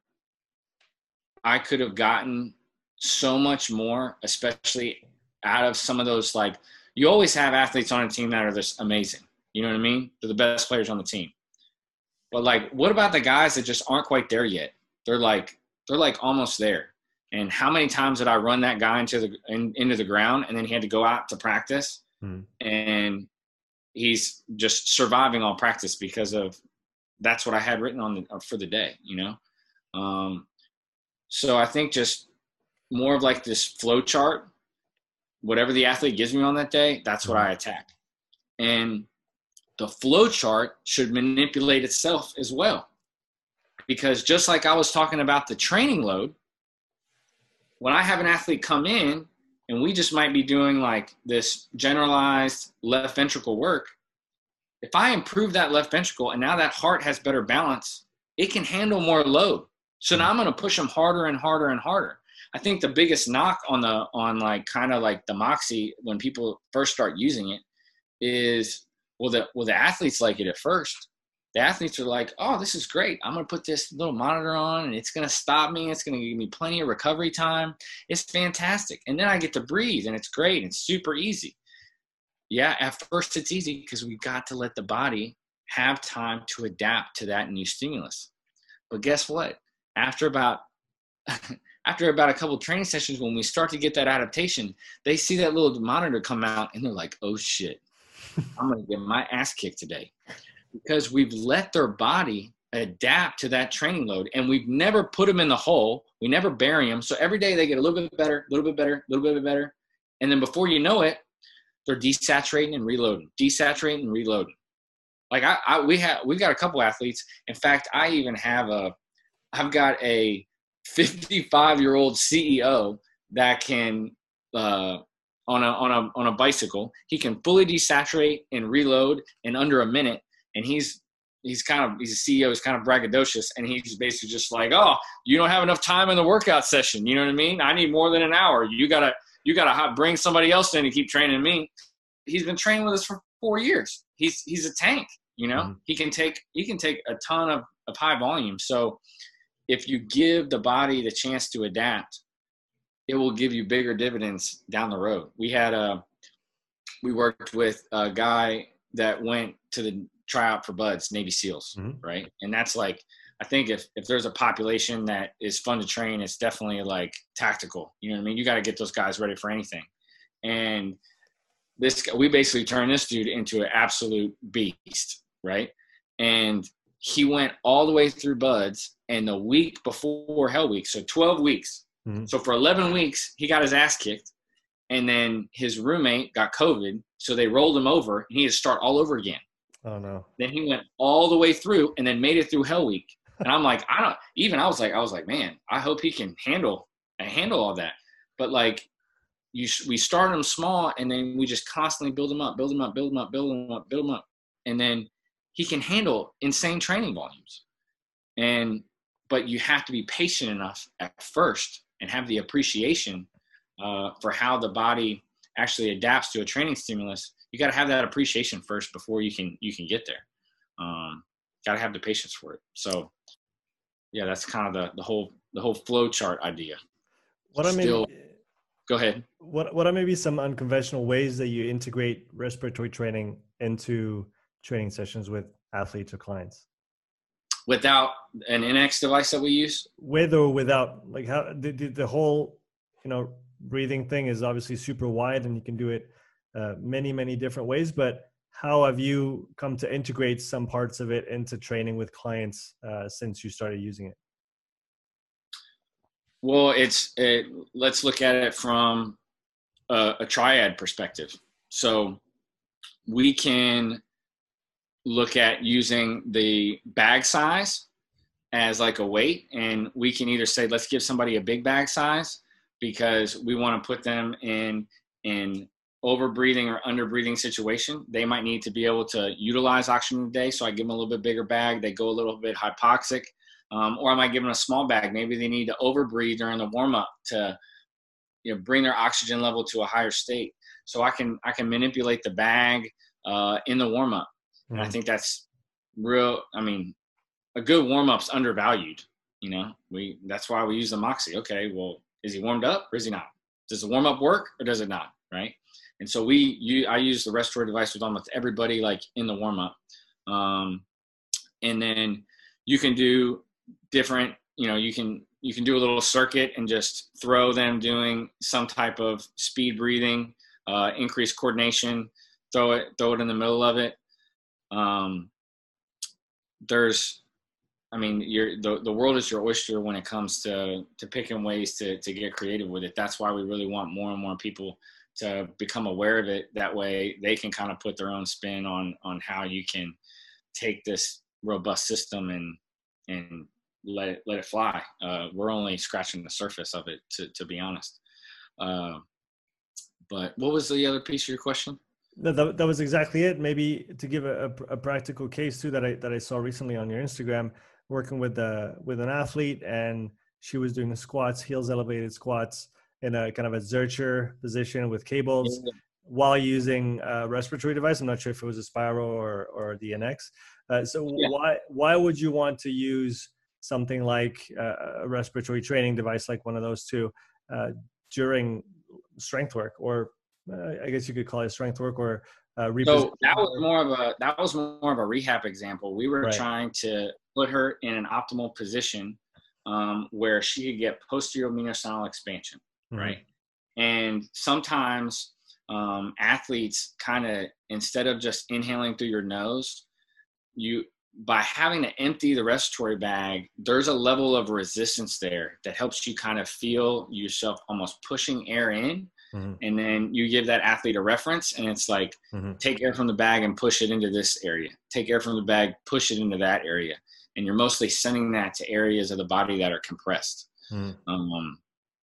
I could have gotten so much more, especially out of some of those, like, you always have athletes on a team that are just amazing. You know what I mean? They're the best players on the team. But like, what about the guys that just aren't quite there yet? They're like, they're like almost there. And how many times did I run that guy into the, in, into the ground, and then he had to go out to practice hmm. and he's just surviving all practice because of, that's what I had written on the, for the day, you know? Um, so I think just more of like this flow chart, whatever the athlete gives me on that day, that's what I attack. And the flow chart should manipulate itself as well. Because just like I was talking about the training load, when I have an athlete come in and we just might be doing like this generalized left ventricle work, if I improve that left ventricle and now that heart has better balance, it can handle more load. So now I'm going to push them harder and harder and harder. I think the biggest knock on the, on like kind of like the Moxy when people first start using it is, well, the, well, the athletes like it at first, the athletes are like, oh, this is great. I'm going to put this little monitor on and it's going to stop me. It's going to give me plenty of recovery time. It's fantastic. And then I get to breathe and it's great. It's super easy. Yeah, at first it's easy because we got to let the body have time to adapt to that new stimulus. But guess what? After about after about a couple of training sessions, when we start to get that adaptation, they see that little monitor come out and they're like, oh shit, I'm going to get my ass kicked today. Because we've let their body adapt to that training load, and we've never put them in the hole. We never bury them. So every day they get a little bit better, a little bit better, a little bit better. And then before you know it, they're desaturating and reloading, desaturating and reloading. Like I, I we have, we've got a couple athletes. In fact, I even have a, I've got a fifty-five year old C E O that can, uh, on a, on a, on a bicycle, he can fully desaturate and reload in under a minute. And he's, he's kind of, he's a C E O, he's kind of braggadocious. And he's basically just like, oh, you don't have enough time in the workout session. You know what I mean? I need more than an hour. You gotta, you gotta bring somebody else in to keep training me. He's been training with us for four years. He's, he's a tank, you know, mm-hmm. he can take, he can take a ton of, of high volume. So if you give the body the chance to adapt, it will give you bigger dividends down the road. We had a, we worked with a guy that went to the tryout for Buds, Navy SEALs, mm-hmm. right? And that's like, I think if, if there's a population that is fun to train, it's definitely like tactical. You know what I mean? You got to get those guys ready for anything. And this, we basically turned this dude into an absolute beast, right? And he went all the way through Buds, and the week before Hell Week, so twelve weeks. Mm-hmm. So for eleven weeks, he got his ass kicked. And then his roommate got COVID, so they rolled him over, and he had to start all over again. Oh, no. Then he went all the way through and then made it through Hell Week. And I'm like, I don't – even I was like, I was like, man, I hope he can handle handle all that. But, like, you we start him small, and then we just constantly build him up, build him up, build him up, build him up, build him up. And then he can handle insane training volumes. And but you have to be patient enough at first and have the appreciation uh, for how the body actually adapts to a training stimulus. You got to have that appreciation first before you can you can get there. Um, got to have the patience for it. So, yeah, that's kind of the the whole the whole flow chart idea. What I Still, mean, go ahead. What what are maybe some unconventional ways that you integrate respiratory training into training sessions with athletes or clients? Without an N X device that we use? With or without, like how the, the, the whole, you know, breathing thing is obviously super wide and you can do it uh, many, many different ways, but how have you come to integrate some parts of it into training with clients uh, since you started using it? Well, it's, it, let's look at it from a, a triad perspective. So we can look at using the bag size as like a weight, and we can either say, let's give somebody a big bag size because we want to put them in in over breathing or under breathing situation. They might need to be able to utilize oxygen today, so I give them a little bit bigger bag. They go a little bit hypoxic, um, or I might give them a small bag. Maybe they need to over breathe during the warm up to, you know, bring their oxygen level to a higher state. So I can I can manipulate the bag uh, in the warm up. And I think that's real. I mean, a good warm-up's undervalued. You know, we that's why we use the Moxy. Okay, well, is he warmed up or is he not? Does the warm-up work or does it not? Right. And so we, you, I use the respiratory device with almost everybody, like in the warm-up. Um, and then you can do different. You know, you can you can do a little circuit and just throw them doing some type of speed breathing, uh, increase coordination. Throw it throw it in the middle of it. Um, there's, I mean, you're, the, the world is your oyster when it comes to, to picking ways to, to get creative with it. That's why we really want more and more people to become aware of it. That way they can kind of put their own spin on, on how you can take this robust system and, and let it, let it fly. Uh, we're only scratching the surface of it, to, to be honest. Uh, but what was the other piece of your question? No, that, that was exactly it. Maybe to give a, a, a practical case too that I that I saw recently on your Instagram, working with a with an athlete, and she was doing the squats, heels elevated squats in a kind of a Zercher position with cables. while using a respiratory device. I'm not sure if it was a Spiral or, or the N X. Uh, so Yeah. why, why would you want to use something like uh, a respiratory training device, like one of those two, uh, during strength work, or uh, I guess you could call it strength work, or uh, repositioning? So that was more of a that was more of a rehab example. We were Right. trying to put her in an optimal position um, where she could get posterior mediastinal expansion, Mm-hmm. right? And sometimes um, athletes kind of, instead of just inhaling through your nose, you by having to empty the respiratory bag, there's a level of resistance there that helps you kind of feel yourself almost pushing air in. Mm-hmm. And then you give that athlete a reference, and it's like, mm-hmm. take air from the bag and push it into this area. Take air from the bag, push it into that area. And you're mostly sending that to areas of the body that are compressed. Mm-hmm. Um,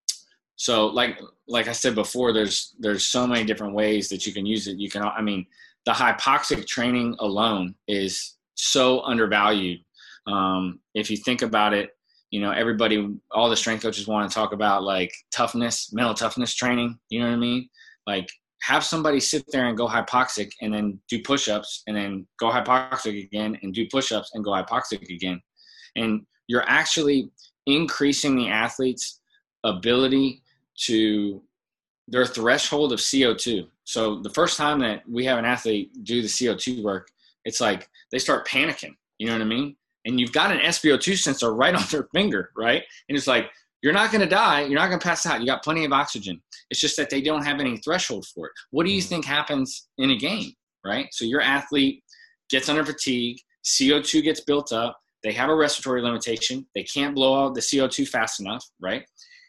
so like, like I said before, there's, there's so many different ways that you can use it. You can, I mean, the hypoxic training alone is so undervalued. Um, if you think about it, you know, everybody, all the strength coaches want to talk about like toughness, mental toughness training. You know what I mean? Like, have somebody sit there and go hypoxic and then do push-ups and then go hypoxic again and do push-ups and go hypoxic again. And you're actually increasing the athlete's ability to their threshold of C O two. So the first time that we have an athlete do the C O two work, it's like they start panicking. You know what I mean? And you've got an S p O two sensor right on their finger, right? And it's like, you're not going to die. You're not going to pass out. You got plenty of oxygen. It's just that they don't have any threshold for it. What do you think happens in a game, right? So your athlete gets under fatigue, C O two gets built up, they have a respiratory limitation, they can't blow out the C O two fast enough, right?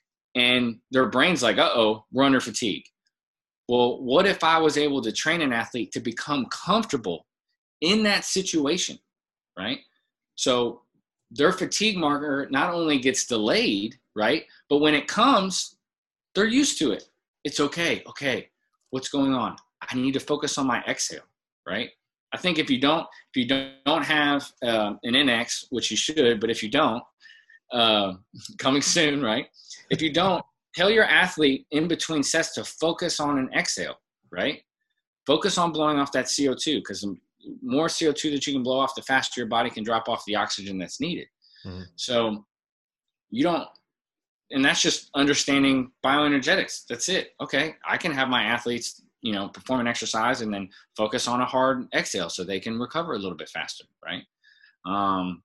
And their brain's like, uh-oh, we're under fatigue. Well, what if I was able to train an athlete to become comfortable in that situation, right? So their fatigue marker not only gets delayed, right? But when it comes, they're used to it. It's okay. Okay, what's going on? I need to focus on my exhale, right? I think if you don't, if you don't, don't have uh, an N X, which you should, but if you don't, uh, coming soon, right? If you don't, tell your athlete in between sets to focus on an exhale, right? Focus on blowing off that C O two, because the more C O two that you can blow off, the faster your body can drop off the oxygen that's needed. Mm-hmm. So you don't, and that's just understanding bioenergetics. That's it. Okay, I can have my athletes, you know, perform an exercise and then focus on a hard exhale so they can recover a little bit faster, right? Um,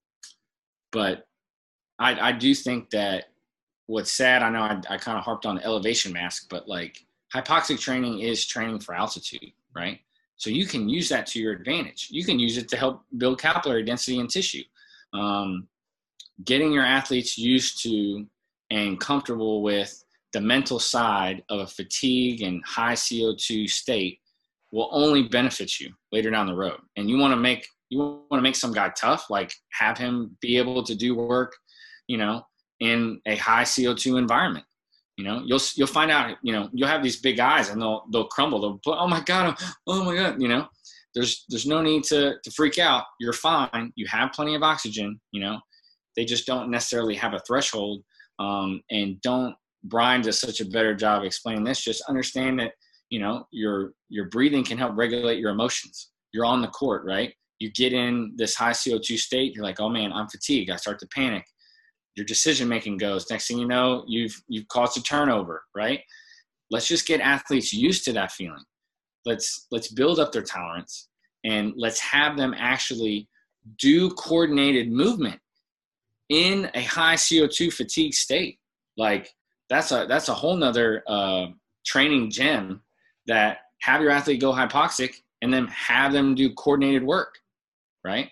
but I, I do think that what's sad, I know I, I kind of harped on the elevation mask, but like hypoxic training is training for altitude, right? So you can use that to your advantage. You can use it to help build capillary density in tissue. Um, getting your athletes used to and comfortable with the mental side of a fatigue and high C O two state will only benefit you later down the road. And you want to make, you want to make some guy tough, like have him be able to do work, you know, in a high C O two environment. You know, you'll, you'll find out, you know, you'll have these big guys and they'll, they'll crumble. They'll put, oh my God, oh my God, you know, there's, there's no need to, to freak out. You're fine. You have plenty of oxygen, you know, they just don't necessarily have a threshold. Um, and don't, Brian does such a better job explaining this. Just understand that, you know, your, your breathing can help regulate your emotions. You're on the court, right? You get in this high C O two state. You're like, oh man, I'm fatigued. I start to panic. Your decision-making goes. Next thing you know, you've, you've caused a turnover, right? Let's just get athletes used to that feeling. Let's, let's build up their tolerance and let's have them actually do coordinated movement in a high C O two fatigue state. Like that's a, that's a whole nother uh, training gem, that have your athlete go hypoxic and then have them do coordinated work. Right.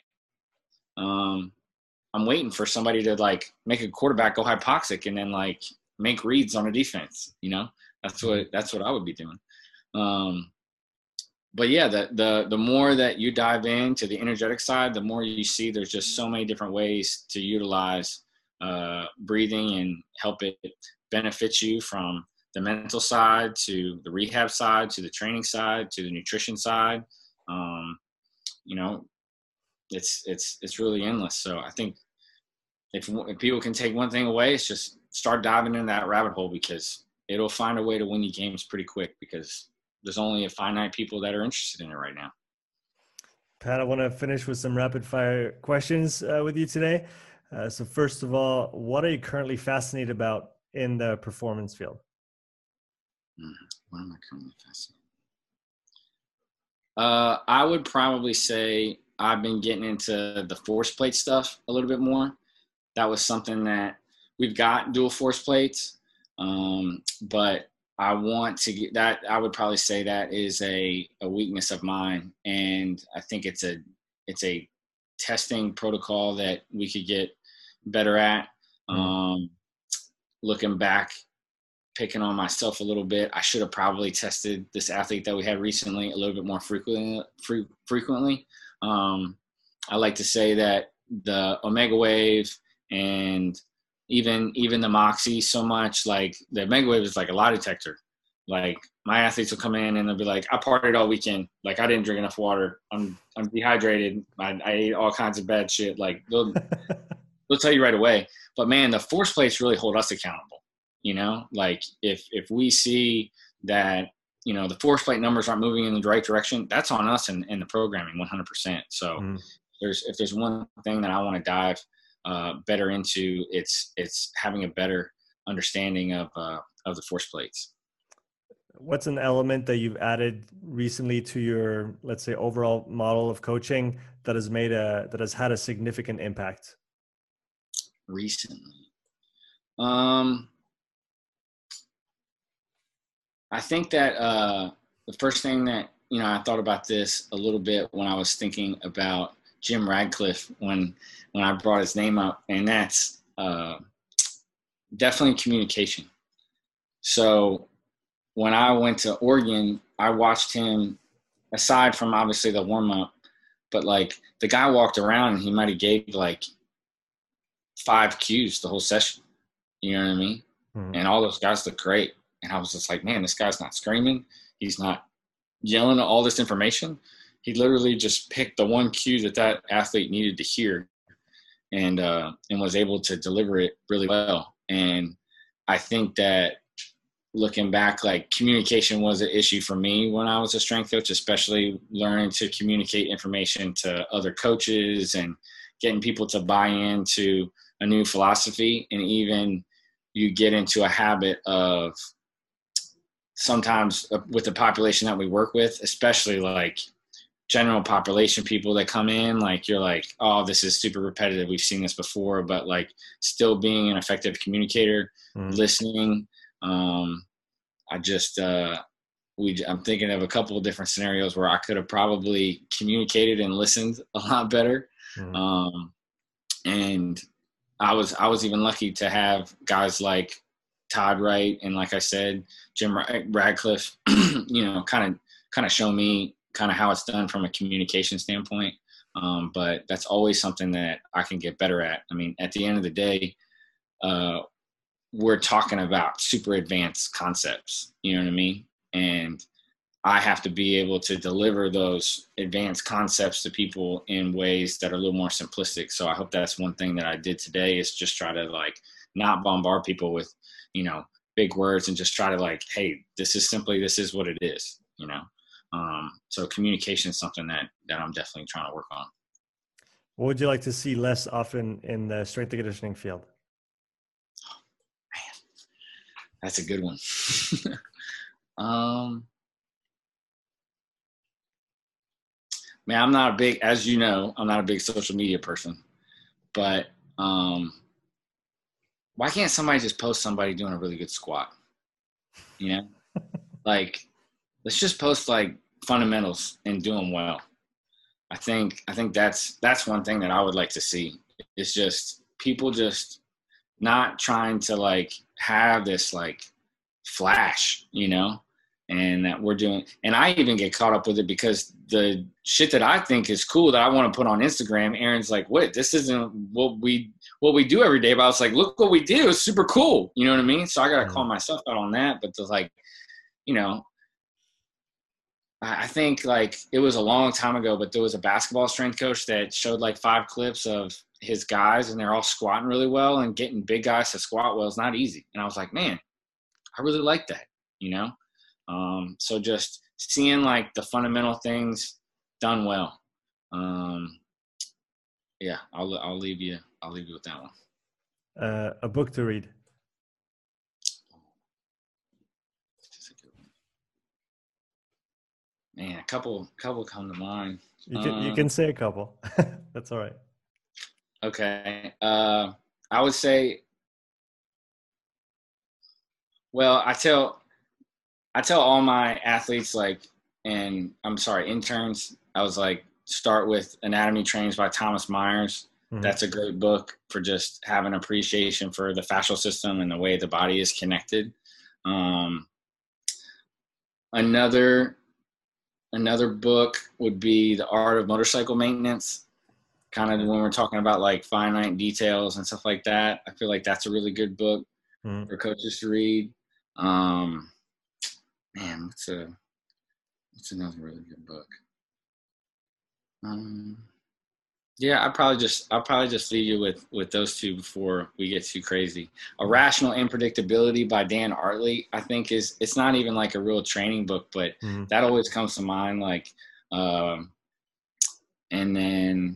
Um, I'm waiting for somebody to like make a quarterback go hypoxic and then like make reads on a defense. You know, that's what, that's what I would be doing. Um, but yeah, the, the, the more that you dive into the energetic side, the more you see there's just so many different ways to utilize uh, breathing and help it benefit you, from the mental side to the rehab side, to the training side, to the nutrition side. Um, you know, it's, it's, it's really endless. So I think if, if people can take one thing away, it's just start diving into that rabbit hole, because it'll find a way to win you games pretty quick, because there's only a finite people that are interested in it right now. Pat, I want to finish with some rapid fire questions uh, with you today. Uh, so first of all, what are you currently fascinated about in the performance field? Mm, what am I currently fascinated? Uh, I would probably say I've been getting into the force plate stuff a little bit more. That was something that we've got dual force plates, um, but I want to get that. I would probably say that is a, a weakness of mine, and I think it's a it's a testing protocol that we could get better at. Um, looking back, picking on myself a little bit, I should have probably tested this athlete that we had recently a little bit more frequently. Fre- frequently, um, I like to say that the Omega Wave and even even the Moxie so much, like the Omega Wave is like a lie detector. Like my athletes will come in and they'll be like, I partied all weekend. Like I didn't drink enough water. I'm I'm dehydrated. I, I ate all kinds of bad shit. Like they'll they'll tell you right away. But man, the force plates really hold us accountable. You know, like if if we see that, you know, the force plate numbers aren't moving in the right direction, that's on us in, in the programming one hundred percent. So mm. there's if there's one thing that I want to dive uh, better into, it's it's having a better understanding of uh, of the force plates. What's an element that you've added recently to your, let's say, overall model of coaching that has made a that has had a significant impact? Recently, um, I think that uh, the first thing that, you know, I thought about this a little bit when I was thinking about Jim Radcliffe when when I brought his name up, and that's uh, definitely communication. So when I went to Oregon, I watched him, aside from obviously the warm up, but like the guy walked around and he might have gave like five cues the whole session. You know what I mean? Mm-hmm. And all those guys look great. And I was just like, man, this guy's not screaming. He's not yelling at all this information. He literally just picked the one cue that that athlete needed to hear and, uh, and was able to deliver it really well. And I think that looking back, like communication was an issue for me when I was a strength coach, especially learning to communicate information to other coaches and getting people to buy into a new philosophy. And even you get into a habit of sometimes with the population that we work with, especially like general population people that come in, like you're like, oh, this is super repetitive. We've seen this before, but like still being an effective communicator, mm. listening. Um, I just, uh, we, I'm thinking of a couple of different scenarios where I could have probably communicated and listened a lot better. Mm. Um, and I was, I was even lucky to have guys like Todd Wright and, like I said, Jim Radcliffe, you know, kind of, kind of show me kind of how it's done from a communication standpoint. Um, but that's always something that I can get better at. I mean, at the end of the day, uh, we're talking about super advanced concepts, you know what I mean? And I have to be able to deliver those advanced concepts to people in ways that are a little more simplistic. So I hope that's one thing that I did today, is just try to like not bombard people with, you know, big words, and just try to like, hey, this is simply, this is what it is, you know? Um, so communication is something that, that I'm definitely trying to work on. What would you like to see less often in the strength and conditioning field? That's a good one. um, man, I'm not a big, as you know, I'm not a big social media person, but um, why can't somebody just post somebody doing a really good squat? You know, like let's just post like fundamentals and do them well. I think, I think that's, that's one thing that I would like to see. It's just people just not trying to like have this like flash, you know, and that we're doing. And I even get caught up with it because the shit that I think is cool that I want to put on Instagram, Aaron's like, wait, this isn't what we, what we do every day. But I was like, look what we do. It's super cool. You know what I mean? So I got to call myself out on that. But to like, you know, I think like it was a long time ago, but there was a basketball strength coach that showed like five clips of his guys and they're all squatting really well, and getting big guys to squat well is not easy. And I was like, man, I really like that, you know? Um, so just seeing like the fundamental things done well. Um, yeah, I'll I'll leave you I'll leave you with that one. Uh, a book to read. Man, a couple couple come to mind. You can Um, you can say a couple. That's all right. Okay. Uh, I would say, well, I tell I tell all my athletes, like, and I'm sorry, interns, I was like, start with Anatomy Trains by Thomas Myers. Mm-hmm. That's a great book for just having appreciation for the fascial system and the way the body is connected. Um, another another book would be The Art of Motorcycle Maintenance. Kind of when we're talking about like finite details and stuff like that, I feel like that's a really good book mm-hmm. for coaches to read. Um, man, what's a what's another really good book? Um, yeah, I probably just I'll probably just leave you with with those two before we get too crazy. Irrational Unpredictability by Dan Artley, I think is it's not even like a real training book, but mm-hmm. that always comes to mind. Like, um, and then.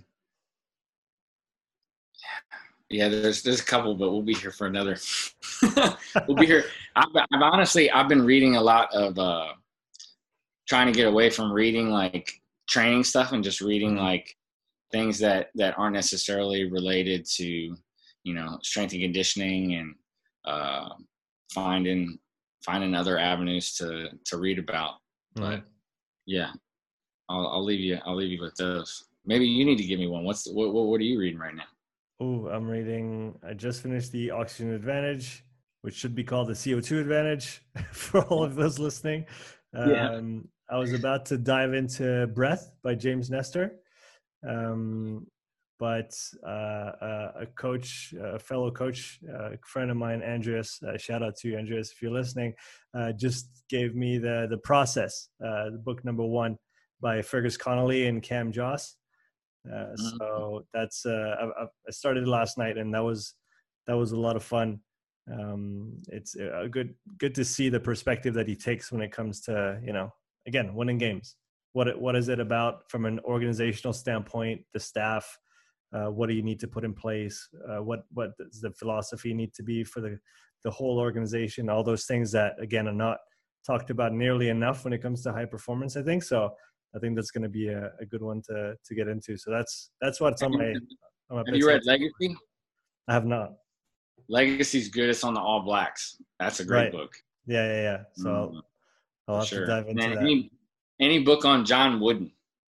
Yeah, there's there's a couple, but we'll be here for another. We'll be here. I've, I've honestly I've been reading a lot of uh, trying to get away from reading like training stuff and just reading like things that that aren't necessarily related to, you know, strength and conditioning, and uh, finding finding other avenues to to read about. Mm-hmm. But yeah, I'll I'll leave you I'll leave you with those. Maybe you need to give me one. What's the, what what are you reading right now? Oh, I'm reading, I just finished the Oxygen Advantage, which should be called the C O two Advantage for all of those listening. Yeah. Um, I was about to dive into Breath by James Nestor. Um, but uh, uh, a coach, a fellow coach, a friend of mine, Andreas, uh, shout out to you, Andreas, if you're listening, uh, just gave me the, the Process, uh, the book number one by Fergus Connolly and Cam Joss. Uh, so that's uh, I, I started last night, and that was that was a lot of fun. Um, it's a good good to see the perspective that he takes when it comes to, you know, again, winning games. What what is it about from an organizational standpoint? The staff, uh, what do you need to put in place? Uh, what what does the philosophy need to be for the the whole organization? All those things that again are not talked about nearly enough when it comes to high performance, I think. So I think that's going to be a, a good one to to get into. So that's that's what's on my. On my have you read Legacy? I have not. Legacy's good. It's on the All Blacks. That's a great right. book. Yeah, yeah, yeah. So mm-hmm. I'll, I'll have sure. to dive into and that. Any, any book on John Wooden.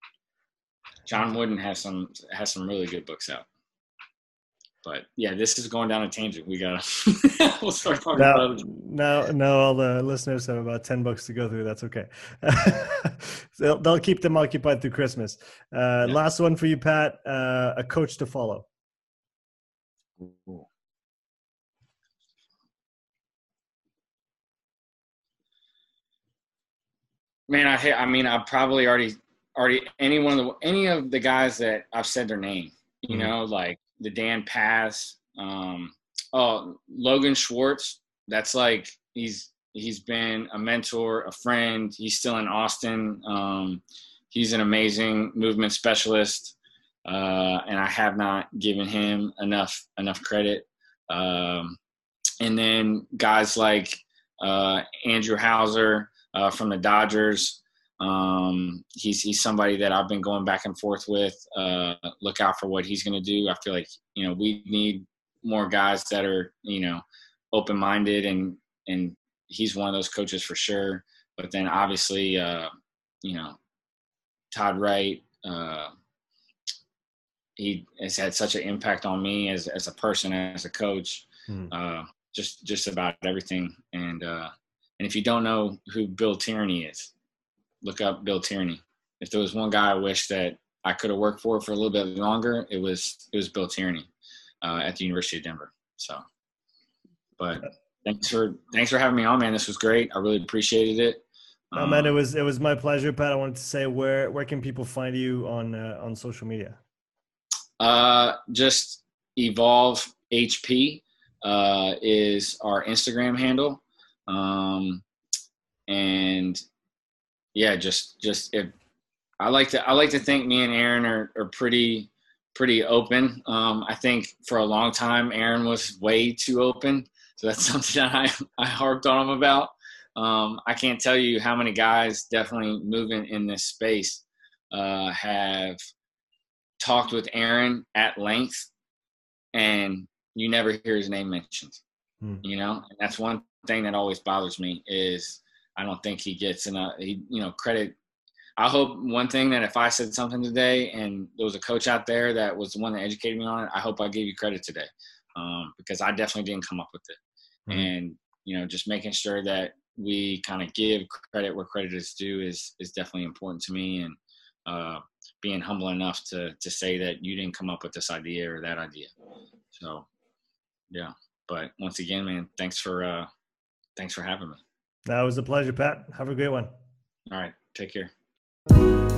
John Wooden has some has some really good books out. But yeah, this is going down a tangent. We gotta we'll start talking now, about it. Now, now all the listeners have about ten books to go through. That's okay. they'll, they'll keep them occupied through Christmas. Uh, yeah. Last one for you, Pat. Uh, a coach to follow. Ooh. Man, I I mean, I probably already already any one of the any of the guys that I've said their name. You mm-hmm. know, like the Dan Paz. Um, oh, Logan Schwartz. That's like he's he's been a mentor, a friend. He's still in Austin. Um, he's an amazing movement specialist, uh, and I have not given him enough enough credit. Um, and then guys like uh, Andrew Hauser uh, from the Dodgers. Um, he's he's somebody that I've been going back and forth with. Uh, look out for what he's going to do. I feel like, you know, we need more guys that are, you know, open-minded, and and he's one of those coaches for sure. But then obviously, uh, you know, Todd Wright, uh, he has had such an impact on me as as a person, as a coach, hmm. uh, just just about everything. And uh, and if you don't know who Bill Tierney is, look up Bill Tierney. If there was one guy I wish that I could have worked for for a little bit longer, it was it was Bill Tierney uh, at the University of Denver. So, but thanks for thanks for having me on, man. This was great. I really appreciated it. No, um, man, it was it was my pleasure, Pat. I wanted to say, where where can people find you on uh, on social media? Uh, just Evolve H P uh, is our Instagram handle, um, and yeah, just just if I like to I like to think me and Aaron are, are pretty pretty open. Um, I think for a long time Aaron was way too open, so that's something that I I harped on him about. Um, I can't tell you how many guys definitely moving in this space uh, have talked with Aaron at length, and you never hear his name mentioned. Hmm. You know, and that's one thing that always bothers me is I don't think he gets enough, he, you know, credit. I hope one thing that if I said something today and there was a coach out there that was the one that educated me on it, I hope I gave you credit today, um, because I definitely didn't come up with it. Hmm. And, you know, just making sure that we kind of give credit where credit is due is is definitely important to me, and uh, being humble enough to to say that you didn't come up with this idea or that idea. So, yeah. But once again, man, thanks for uh, thanks for having me. That was a pleasure, Pat. Have a great one. All right, take care.